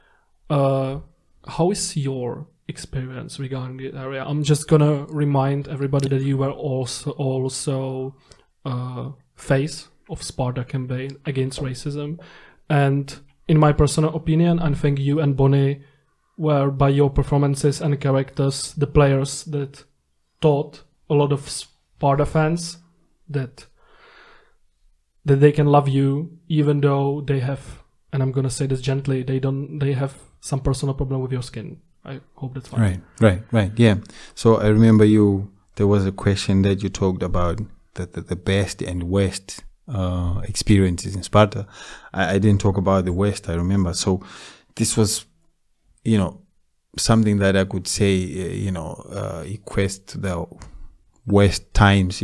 How is your experience regarding the area? I'm just going to remind everybody that you were also face of Sparta campaign against racism. And in my personal opinion, I think you and Bonnie were, by your performances and characters, the players that taught a lot of Sparta fans that they can love you even though they have, and I'm gonna say this gently, they have some personal problem with your skin. I hope that's fine. Right. Yeah. So I remember there was a question that you talked about the best and worst experiences in Sparta. I didn't talk about the worst, I remember. So this was, something that I could say, equates to the worst times,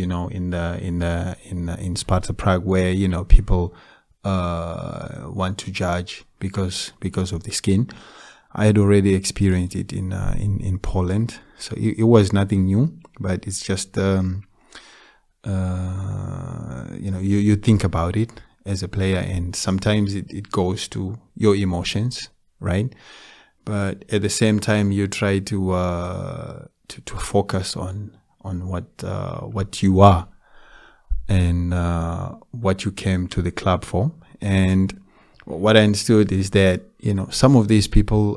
in Sparta Prague, where people want to judge because of the skin. I had already experienced it in Poland, so it was nothing new. But it's just you think about it as a player, and sometimes it goes to your emotions, right? But at the same time, you try to focus on what you are and what you came to the club for. And what I understood is that some of these people,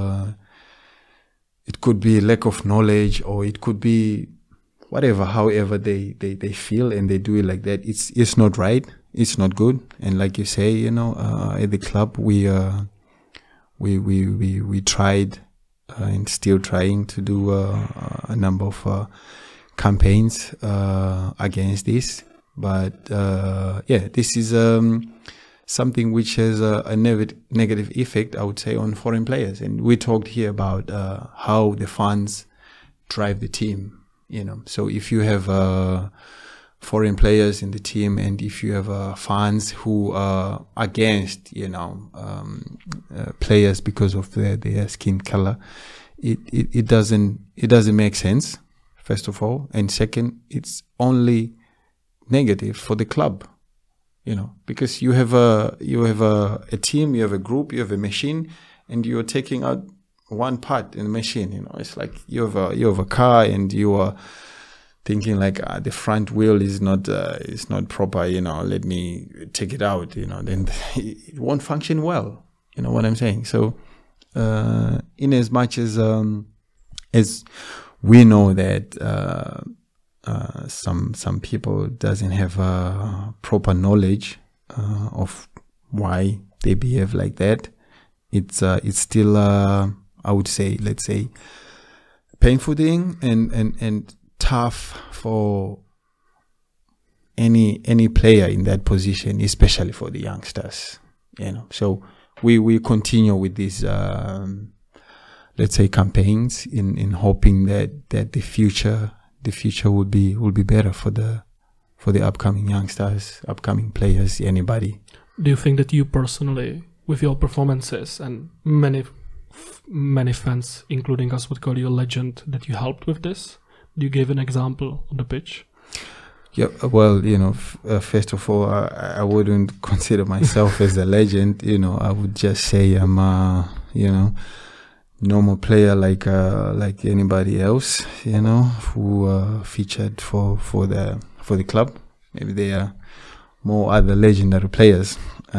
it could be lack of knowledge, or it could be whatever. However they feel and they do it like that, it's not right. It's not good. And like you say, at the club we tried and still trying to do a number of campaigns against this. But this is something which has a negative effect, I would say, on foreign players. And we talked here about how the fans drive the team. So if you have foreign players in the team, and if you have fans who are against, players because of their skin color, it doesn't make sense. First of all, and second, it's only negative for the club, because you have a team, you have a group, you have a machine, and you're taking out one part in the machine. It's like you have a car, and you are thinking like the front wheel is not proper. Let me take it out. Then it won't function well. You know what I'm saying? So, in as much as we know that some people doesn't have proper knowledge of why they behave like that, it's still I would say, let's say, painful thing and tough for any player in that position, especially for the youngsters. So we continue with these let's say campaigns in hoping that the future will be better for the upcoming youngsters, upcoming players, anybody. Do you think that you personally, with your performances, and many fans, including us, would call you a legend, that you helped with this? Do you give an example on the pitch? Yeah, well, first of all, I wouldn't consider myself as a legend. I would just say I'm normal player like anybody else, who featured for the club. Maybe they are more other legendary players.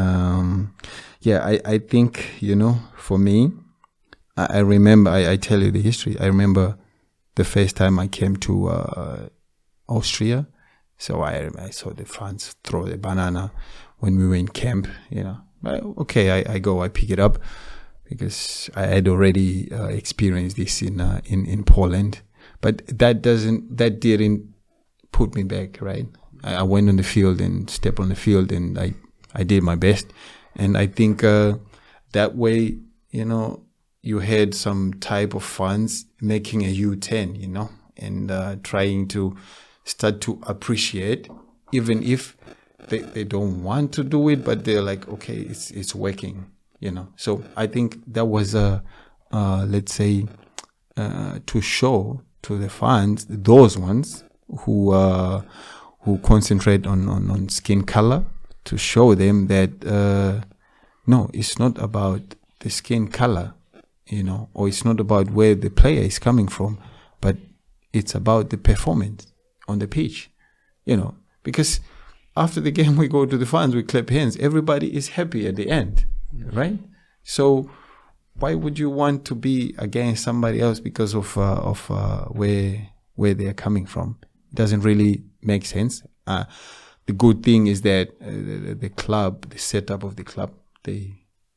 I think, for me, I remember, I tell you the history. I remember the first time I came to Austria. So I saw the fans throw the banana when we were in camp, Okay, I pick it up, because I had already experienced this in Poland. But that didn't put me back, right? I went on the field and stepped on the field, and I did my best. And I think that way, you had some type of fans making a U-turn, and trying to start to appreciate, even if they don't want to do it, but they're like, okay, it's working, So I think that was let's say, to show to the fans, those ones who concentrate on skin color, to show them that no, it's not about the skin color, or it's not about where the player is coming from, but it's about the performance on the pitch, because after the game we go to the fans, we clap hands, everybody is happy at the end, right? So why would you want to be against somebody else because of where they are coming from? It doesn't really make sense. The good thing is that the club, the setup of the club, they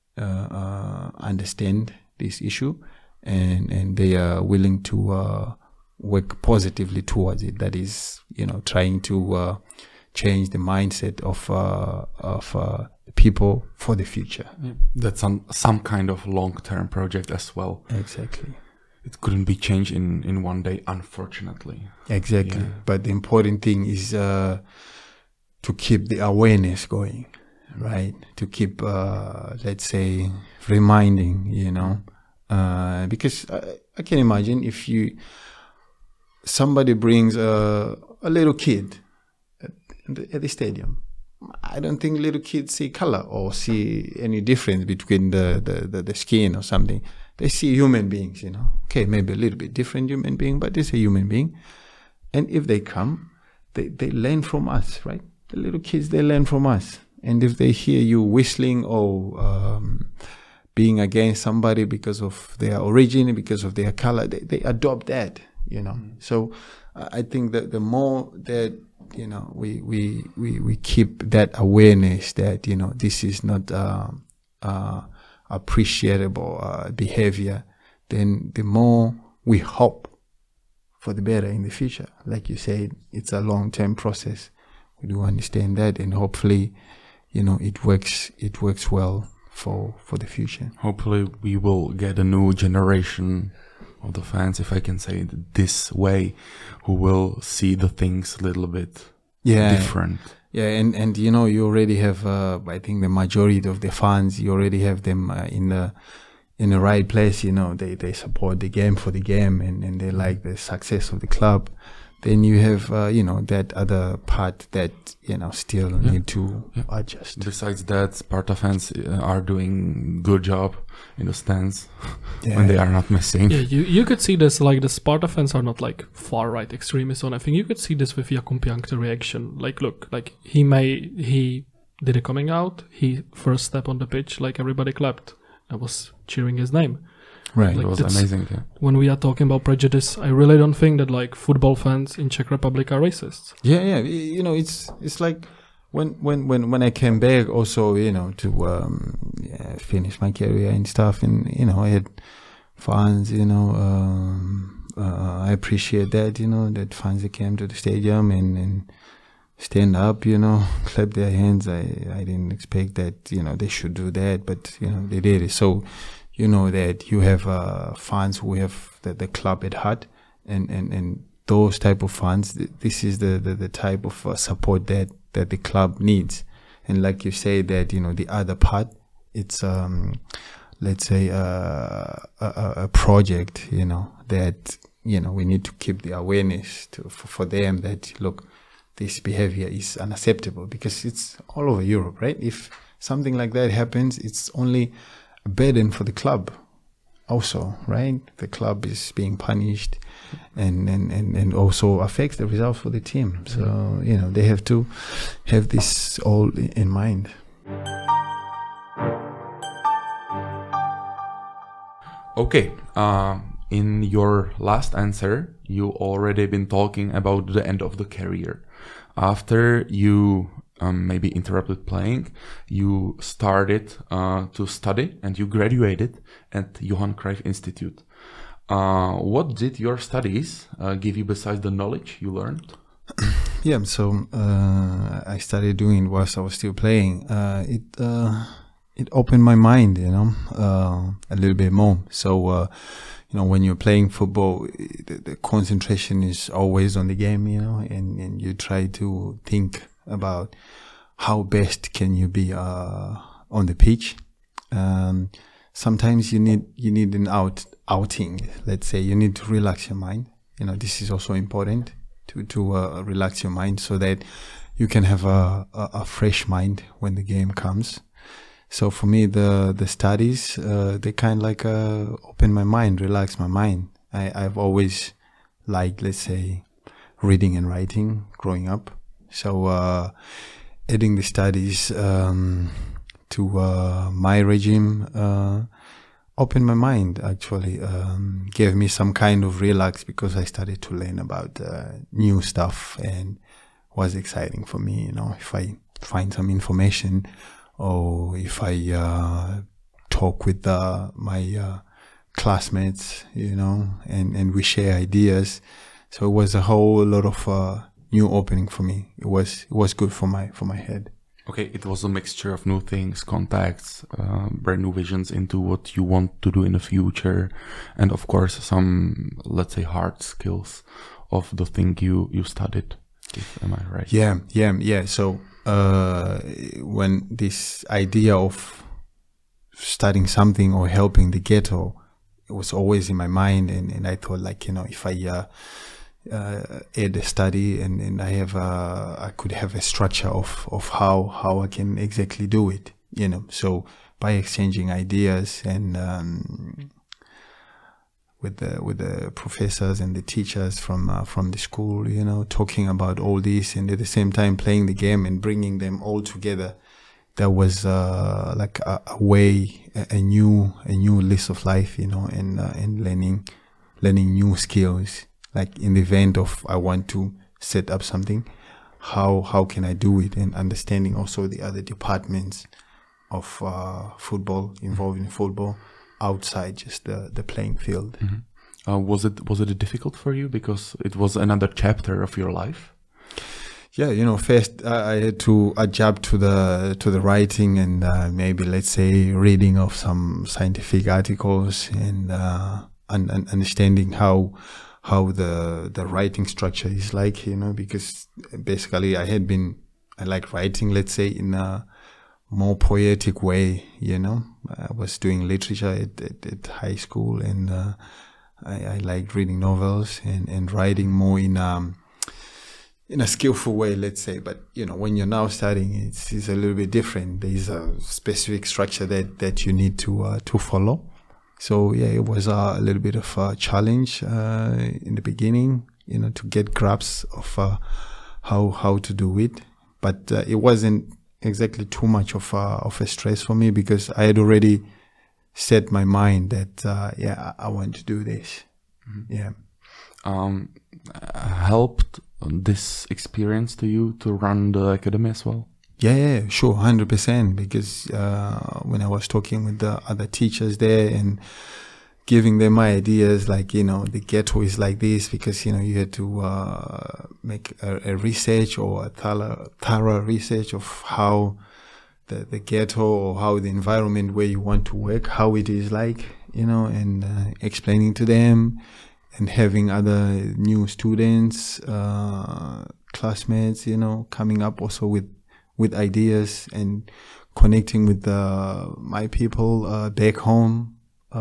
understand this issue, and they are willing to work positively towards it. That is, trying to change the mindset of people for the future. Yeah. That's some kind of long-term project as well. Exactly. It couldn't be changed in one day, unfortunately. Exactly. Yeah. But the important thing is to keep the awareness going, right? To keep, let's say, reminding, because I can imagine if somebody brings a little kid at the stadium, I don't think little kids see color or see any difference between the skin or something. They see human beings, Okay, maybe a little bit different human being, but it's a human being. And if they come, they learn from us, right? The little kids, they learn from us. And if they hear you whistling or being against somebody because of their origin, because of their color, they adopt that, So I think that the more that, we keep that awareness that, this is not appreciable behavior, then the more we hope for the better in the future. Like you said, it's a long-term process. We do understand that, and hopefully, it works well for the future. Hopefully we will get a new generation of the fans, if I can say it this way, who will see the things a little bit different. Yeah, and you know, you already have, I think the majority of the fans, you already have them in the right place. You know, they support the game for the game, and they like the success of the club. Then you have, you know, that other part that, you know, still need to adjust. Besides that, Sparta fans are doing good job in the stands when they are not missing. Yeah, you could see this, like the Sparta fans are not like far right extremists or anything. You could see this with Jakub Jank's reaction. Like, look, like he did a coming out. He first step on the pitch, like everybody clapped. I was cheering his name. Right. It was amazing. Yeah. When we are talking about prejudice, I really don't think that like football fans in Czech Republic are racists. Yeah. You know, it's like when I came back also, you know, to finish my career and stuff, and you know, I had fans, you know, I appreciate that, you know, that fans that came to the stadium and stand up, you know, clap their hands. I didn't expect that, you know, they should do that, but you know, they did it. So you know that you have fans who have the club at heart, and those type of fans, this is the type of support that the club needs. And like you say that, you know, the other part, it's let's say a project, you know, that, you know, we need to keep the awareness for them that, look, this behavior is unacceptable, because it's all over Europe, right? If something like that happens, it's only a burden for the club also, right? The club is being punished and also affects the results for the team. So, you know, they have to have this all in mind. Okay. In your last answer, you already been talking about the end of the career. After you maybe interrupted playing, you started to study and you graduated at Johan Cruyff Institute. What did your studies give you besides the knowledge you learned? Yeah, so I started doing whilst I was still playing. It opened my mind, you know, a little bit more. So, you know, when you're playing football, the concentration is always on the game, you know, and you try to think about how best can you be on the pitch. Sometimes you need an outing. Let's say you need to relax your mind. You know, this is also important to relax your mind so that you can have a fresh mind when the game comes. So for me, the studies, they kind of like open my mind, relax my mind. I've always liked, let's say, reading and writing growing up. So adding the studies to my regime opened my mind, actually. Gave me some kind of relax, because I started to learn about new stuff, and was exciting for me, you know, if I find some information, or if I talk with my classmates, you know, and we share ideas. So it was a whole lot of new opening for me. It was good for my head. Okay, it was a mixture of new things, contacts, brand new visions into what you want to do in the future, and of course some, let's say, hard skills of the thing you studied. Am I right? Yeah. So when this idea of studying something or helping the ghetto, it was always in my mind, and I thought, like, you know, if I add a study and I could have a structure of how I can exactly do it, you know. So by exchanging ideas and with the professors and the teachers from the school, you know, talking about all this, and at the same time playing the game and bringing them all together, that was like a way, a new list of life, you know, and learning new skills. Like in the event of I want to set up something, how can I do it, and understanding also the other departments of football, involving football outside just the playing field. Mm-hmm. Was it difficult for you because it was another chapter of your life? Yeah, you know, first I had to adapt to the writing and maybe, let's say, reading of some scientific articles and understanding how the writing structure is like, because basically I like writing, let's say, in a more poetic way, I was doing literature at high school, and I liked reading novels and writing more in a skillful way, let's say. But when you're now studying, it's a little bit different. There's a specific structure that you need to follow. So yeah, it was a little bit of a challenge in the beginning, to get grasp of how to do it. But it wasn't exactly too much of a stress for me, because I had already set my mind that I want to do this. Yeah. Helped this experience to you to run the academy as well? Yeah, sure, 100%. Because when I was talking with the other teachers there and giving them my ideas, like, the ghetto is like this, because, you had to make a research, or a thorough research of how the ghetto, or how the environment where you want to work, how it is like, and explaining to them, and having other new students, classmates, coming up also with ideas, and connecting with my people back home,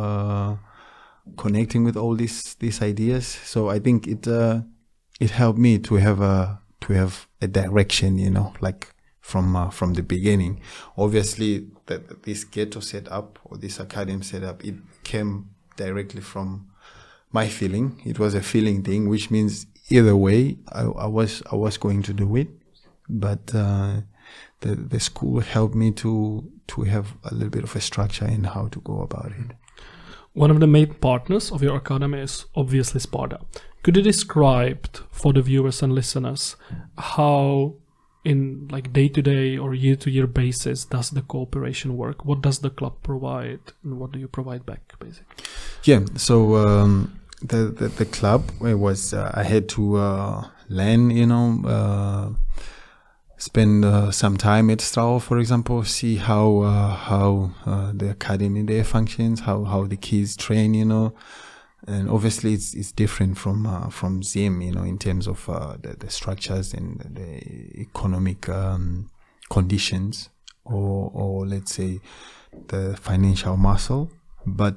connecting with all these ideas. So I think it helped me to have a direction, like from the beginning. Obviously, that this ghetto setup, or this academy setup, it came directly from my feeling. It was a feeling thing, which means either way, I was going to do it. But the school helped me to have a little bit of a structure in how to go about it. One of the main partners of your academy is obviously Sparta. Could you describe for the viewers and listeners how, in like day-to-day or year-to-year basis, does the cooperation work? What does the club provide, and what do you provide back, basically? Yeah, so the club was I had to learn, spend some time at Strauer, for example, see how the academy there functions, how the kids train, and obviously it's different from Zim, in terms of the structures and the economic conditions, or let's say the financial muscle. But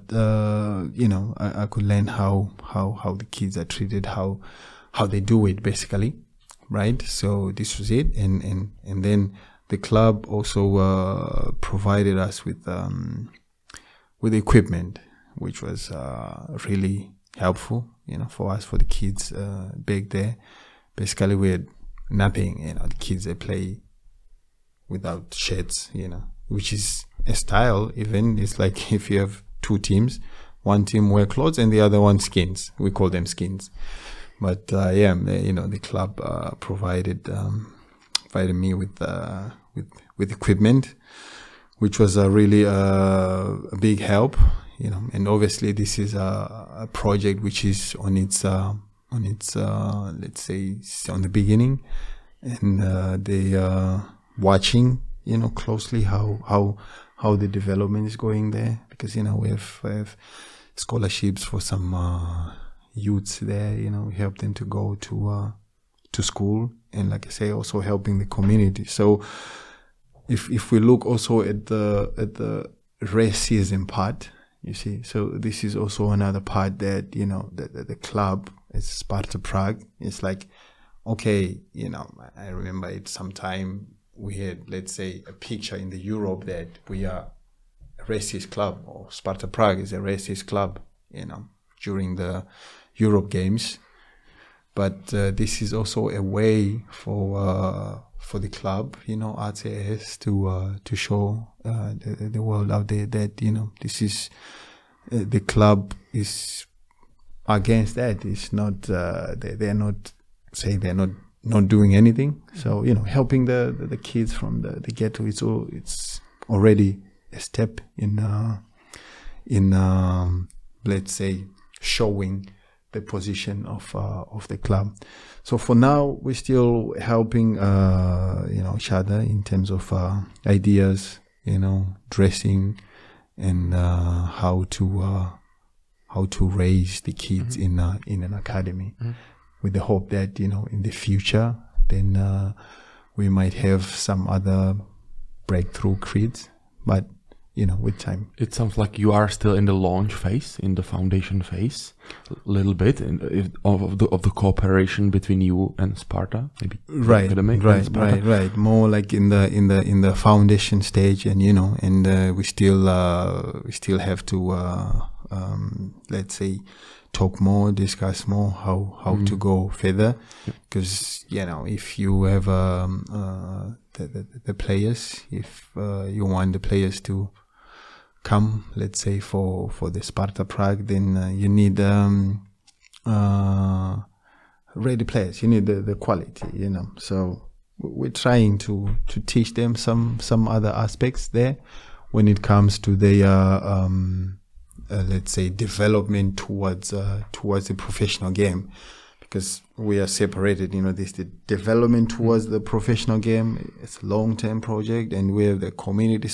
I could learn how the kids are treated, how they do it, basically. Right, so this was it, and then the club also provided us with equipment, which was really helpful, for us, for the kids back there. Basically, we had nothing, the kids, they play without shirts, which is a style. Even it's like if you have two teams, one team wear clothes and the other one skins. We call them skins. But the club provided me with equipment, which was really a big help, And obviously, this is a project which is on its let's say, on the beginning, and they are watching, closely how the development is going there, because we have scholarships for some youths there, we help them to go to school, and like I say, also helping the community. So if we look also at the racism part, you see, so this is also another part that the club, it's Sparta Prague. It's like, okay, I remember it sometime we had, let's say, a picture in the Europe that we are a racist club, or Sparta Prague is a racist club, during the Europe games. But this is also a way for the club, ACS, to show the world out there that this is the club is against that. It's not they're not saying they're not doing anything. So helping the kids from the ghetto, it's already a step in let's say, showing the position of the club. So for now, we're still helping each other in terms of dressing, and how to raise the kids in an academy, with the hope that, you know, in the future, then we might have some other breakthrough kids, but, you know, with time. It sounds like you are still in the launch phase, in the foundation phase, a little bit of the cooperation between you and Sparta, maybe. Right. More like in the foundation stage, and you know, and we still have to let's say talk more, discuss more how to go further, because you know, if you have the players, if you want the players to come, let's say for the Sparta Prague, then you need ready players. You need the quality, you know. So we're trying to teach them some other aspects there when it comes to their let's say development towards the professional game, because we are separated. You know, this the development towards the professional game. It's a long-term project, and we have the community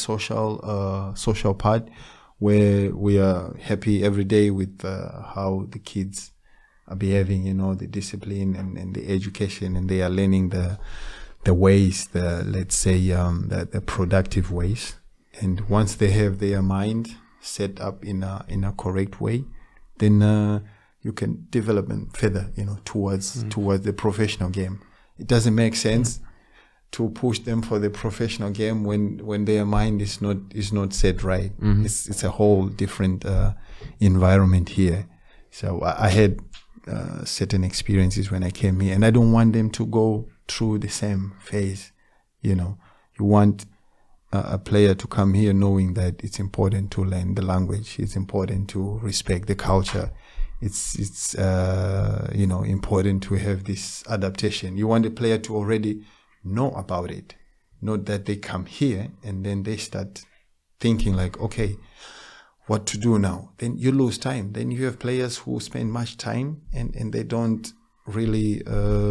social part, where we are happy every day with how the kids are behaving. You know, the discipline and the education, and they are learning the ways, let's say the productive ways. And once they have their mind set up in a correct way, then you can develop them further, you know, towards the professional game. It doesn't make sense to push them for the professional game when their mind is not set right. It's a whole different environment here. So I had certain experiences when I came here, and I don't want them to go through the same phase. You know, you want a player to come here knowing that it's important to learn the language. It's important to respect the culture. It's you know, important to have this adaptation. You want the player to already know about it, not that they come here and then they start thinking like, okay, what to do now? Then you lose time. Then you have players who spend much time and they don't really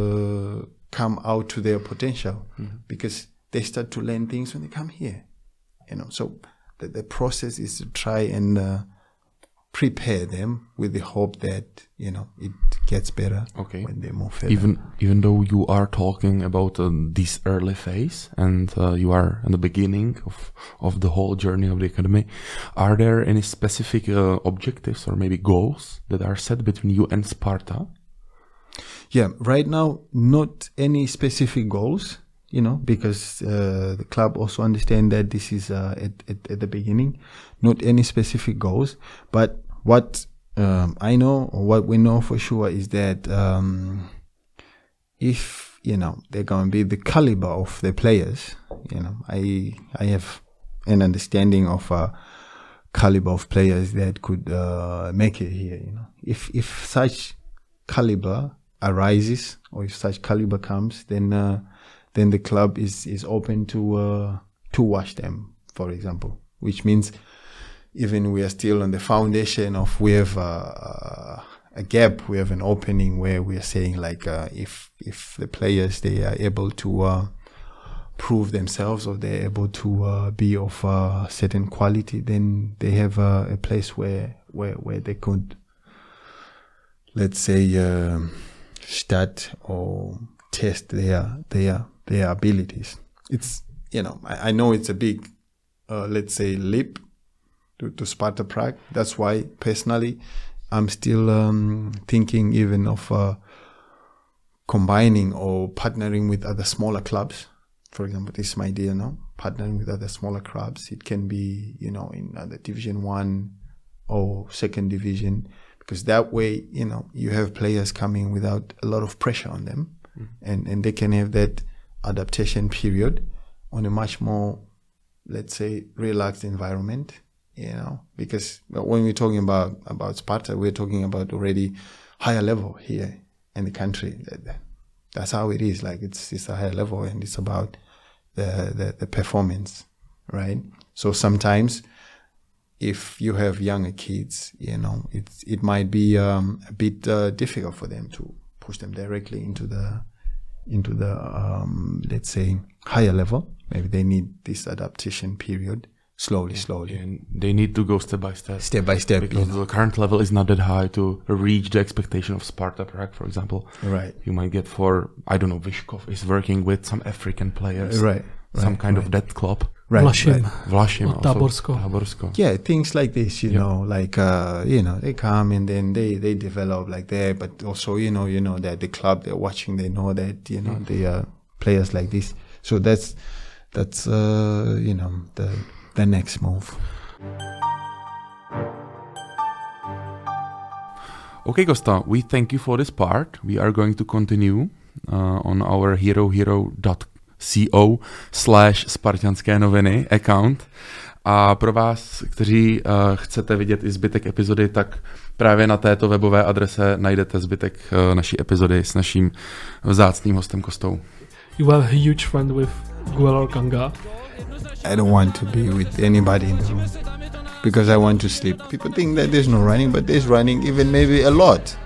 come out to their potential, because they start to learn things when they come here, you know. So the process is to try and prepare them with the hope that, you know, it gets better when they move further. Even though you are talking about this early phase, and you are in the beginning of the whole journey of the academy, are there any specific objectives or maybe goals that are set between you and Sparta? Yeah, right now, not any specific goals, you know, because the club also understand that this is at the beginning, not any specific goals. But what I know, or what we know for sure, is that if, you know, they're going to be the caliber of the players, you know, I have an understanding of a caliber of players that could make it here, you know. If such caliber arises, or if such caliber comes, then the club is open to watch them, for example. Which means even we are still on the foundation of, we have a gap, we have an opening where we are saying like, if the players, they are able to prove themselves, or they're able to be of a certain quality, then they have a place where they could, let's say, start or test their abilities. It's, you know, I know it's a big, let's say, leap to Sparta Prague. That's why personally I'm still thinking even of combining or partnering with other smaller clubs. For example, this is my idea now, partnering with other smaller clubs. It can be, you know, in other Division 1 or 2nd Division, because that way, you know, you have players coming without a lot of pressure on them, and they can have that adaptation period on a much more, let's say, relaxed environment, you know, because when we're talking about Sparta, we're talking about already higher level here in the country. That's how it is. Like it's a higher level, and it's about the performance, right? So sometimes, if you have younger kids, you know, it might be a bit difficult for them to push them directly into the let's say, higher level. Maybe they need this adaptation period. slowly. And they need to go step by step. Step by step. Because the current level is not that high to reach the expectation of Sparta Prague, for example. Right. You might get Vyshkov is working with some African players. Right. Some kind of that club. Right. Vlašim Oh, Taborsko. Yeah, things like this, you know, like, they come and then they develop like that, but also, you know, that the club they're watching, they know that, you know, they are players like this. So that's the next move. Okay, Costa, we thank you for this part. We are going to continue on our herohero.co/Spartanské noviny account. A pro vás, kteří chcete vidět i zbytek epizody, tak právě na této webové adrese najdete zbytek naší epizody s naším vzácným hostem Kostou. You are a huge friend with Guelor Kanga. I don't want to be with anybody in the room because I want to sleep. People think that there's no running, but there's running, even maybe a lot.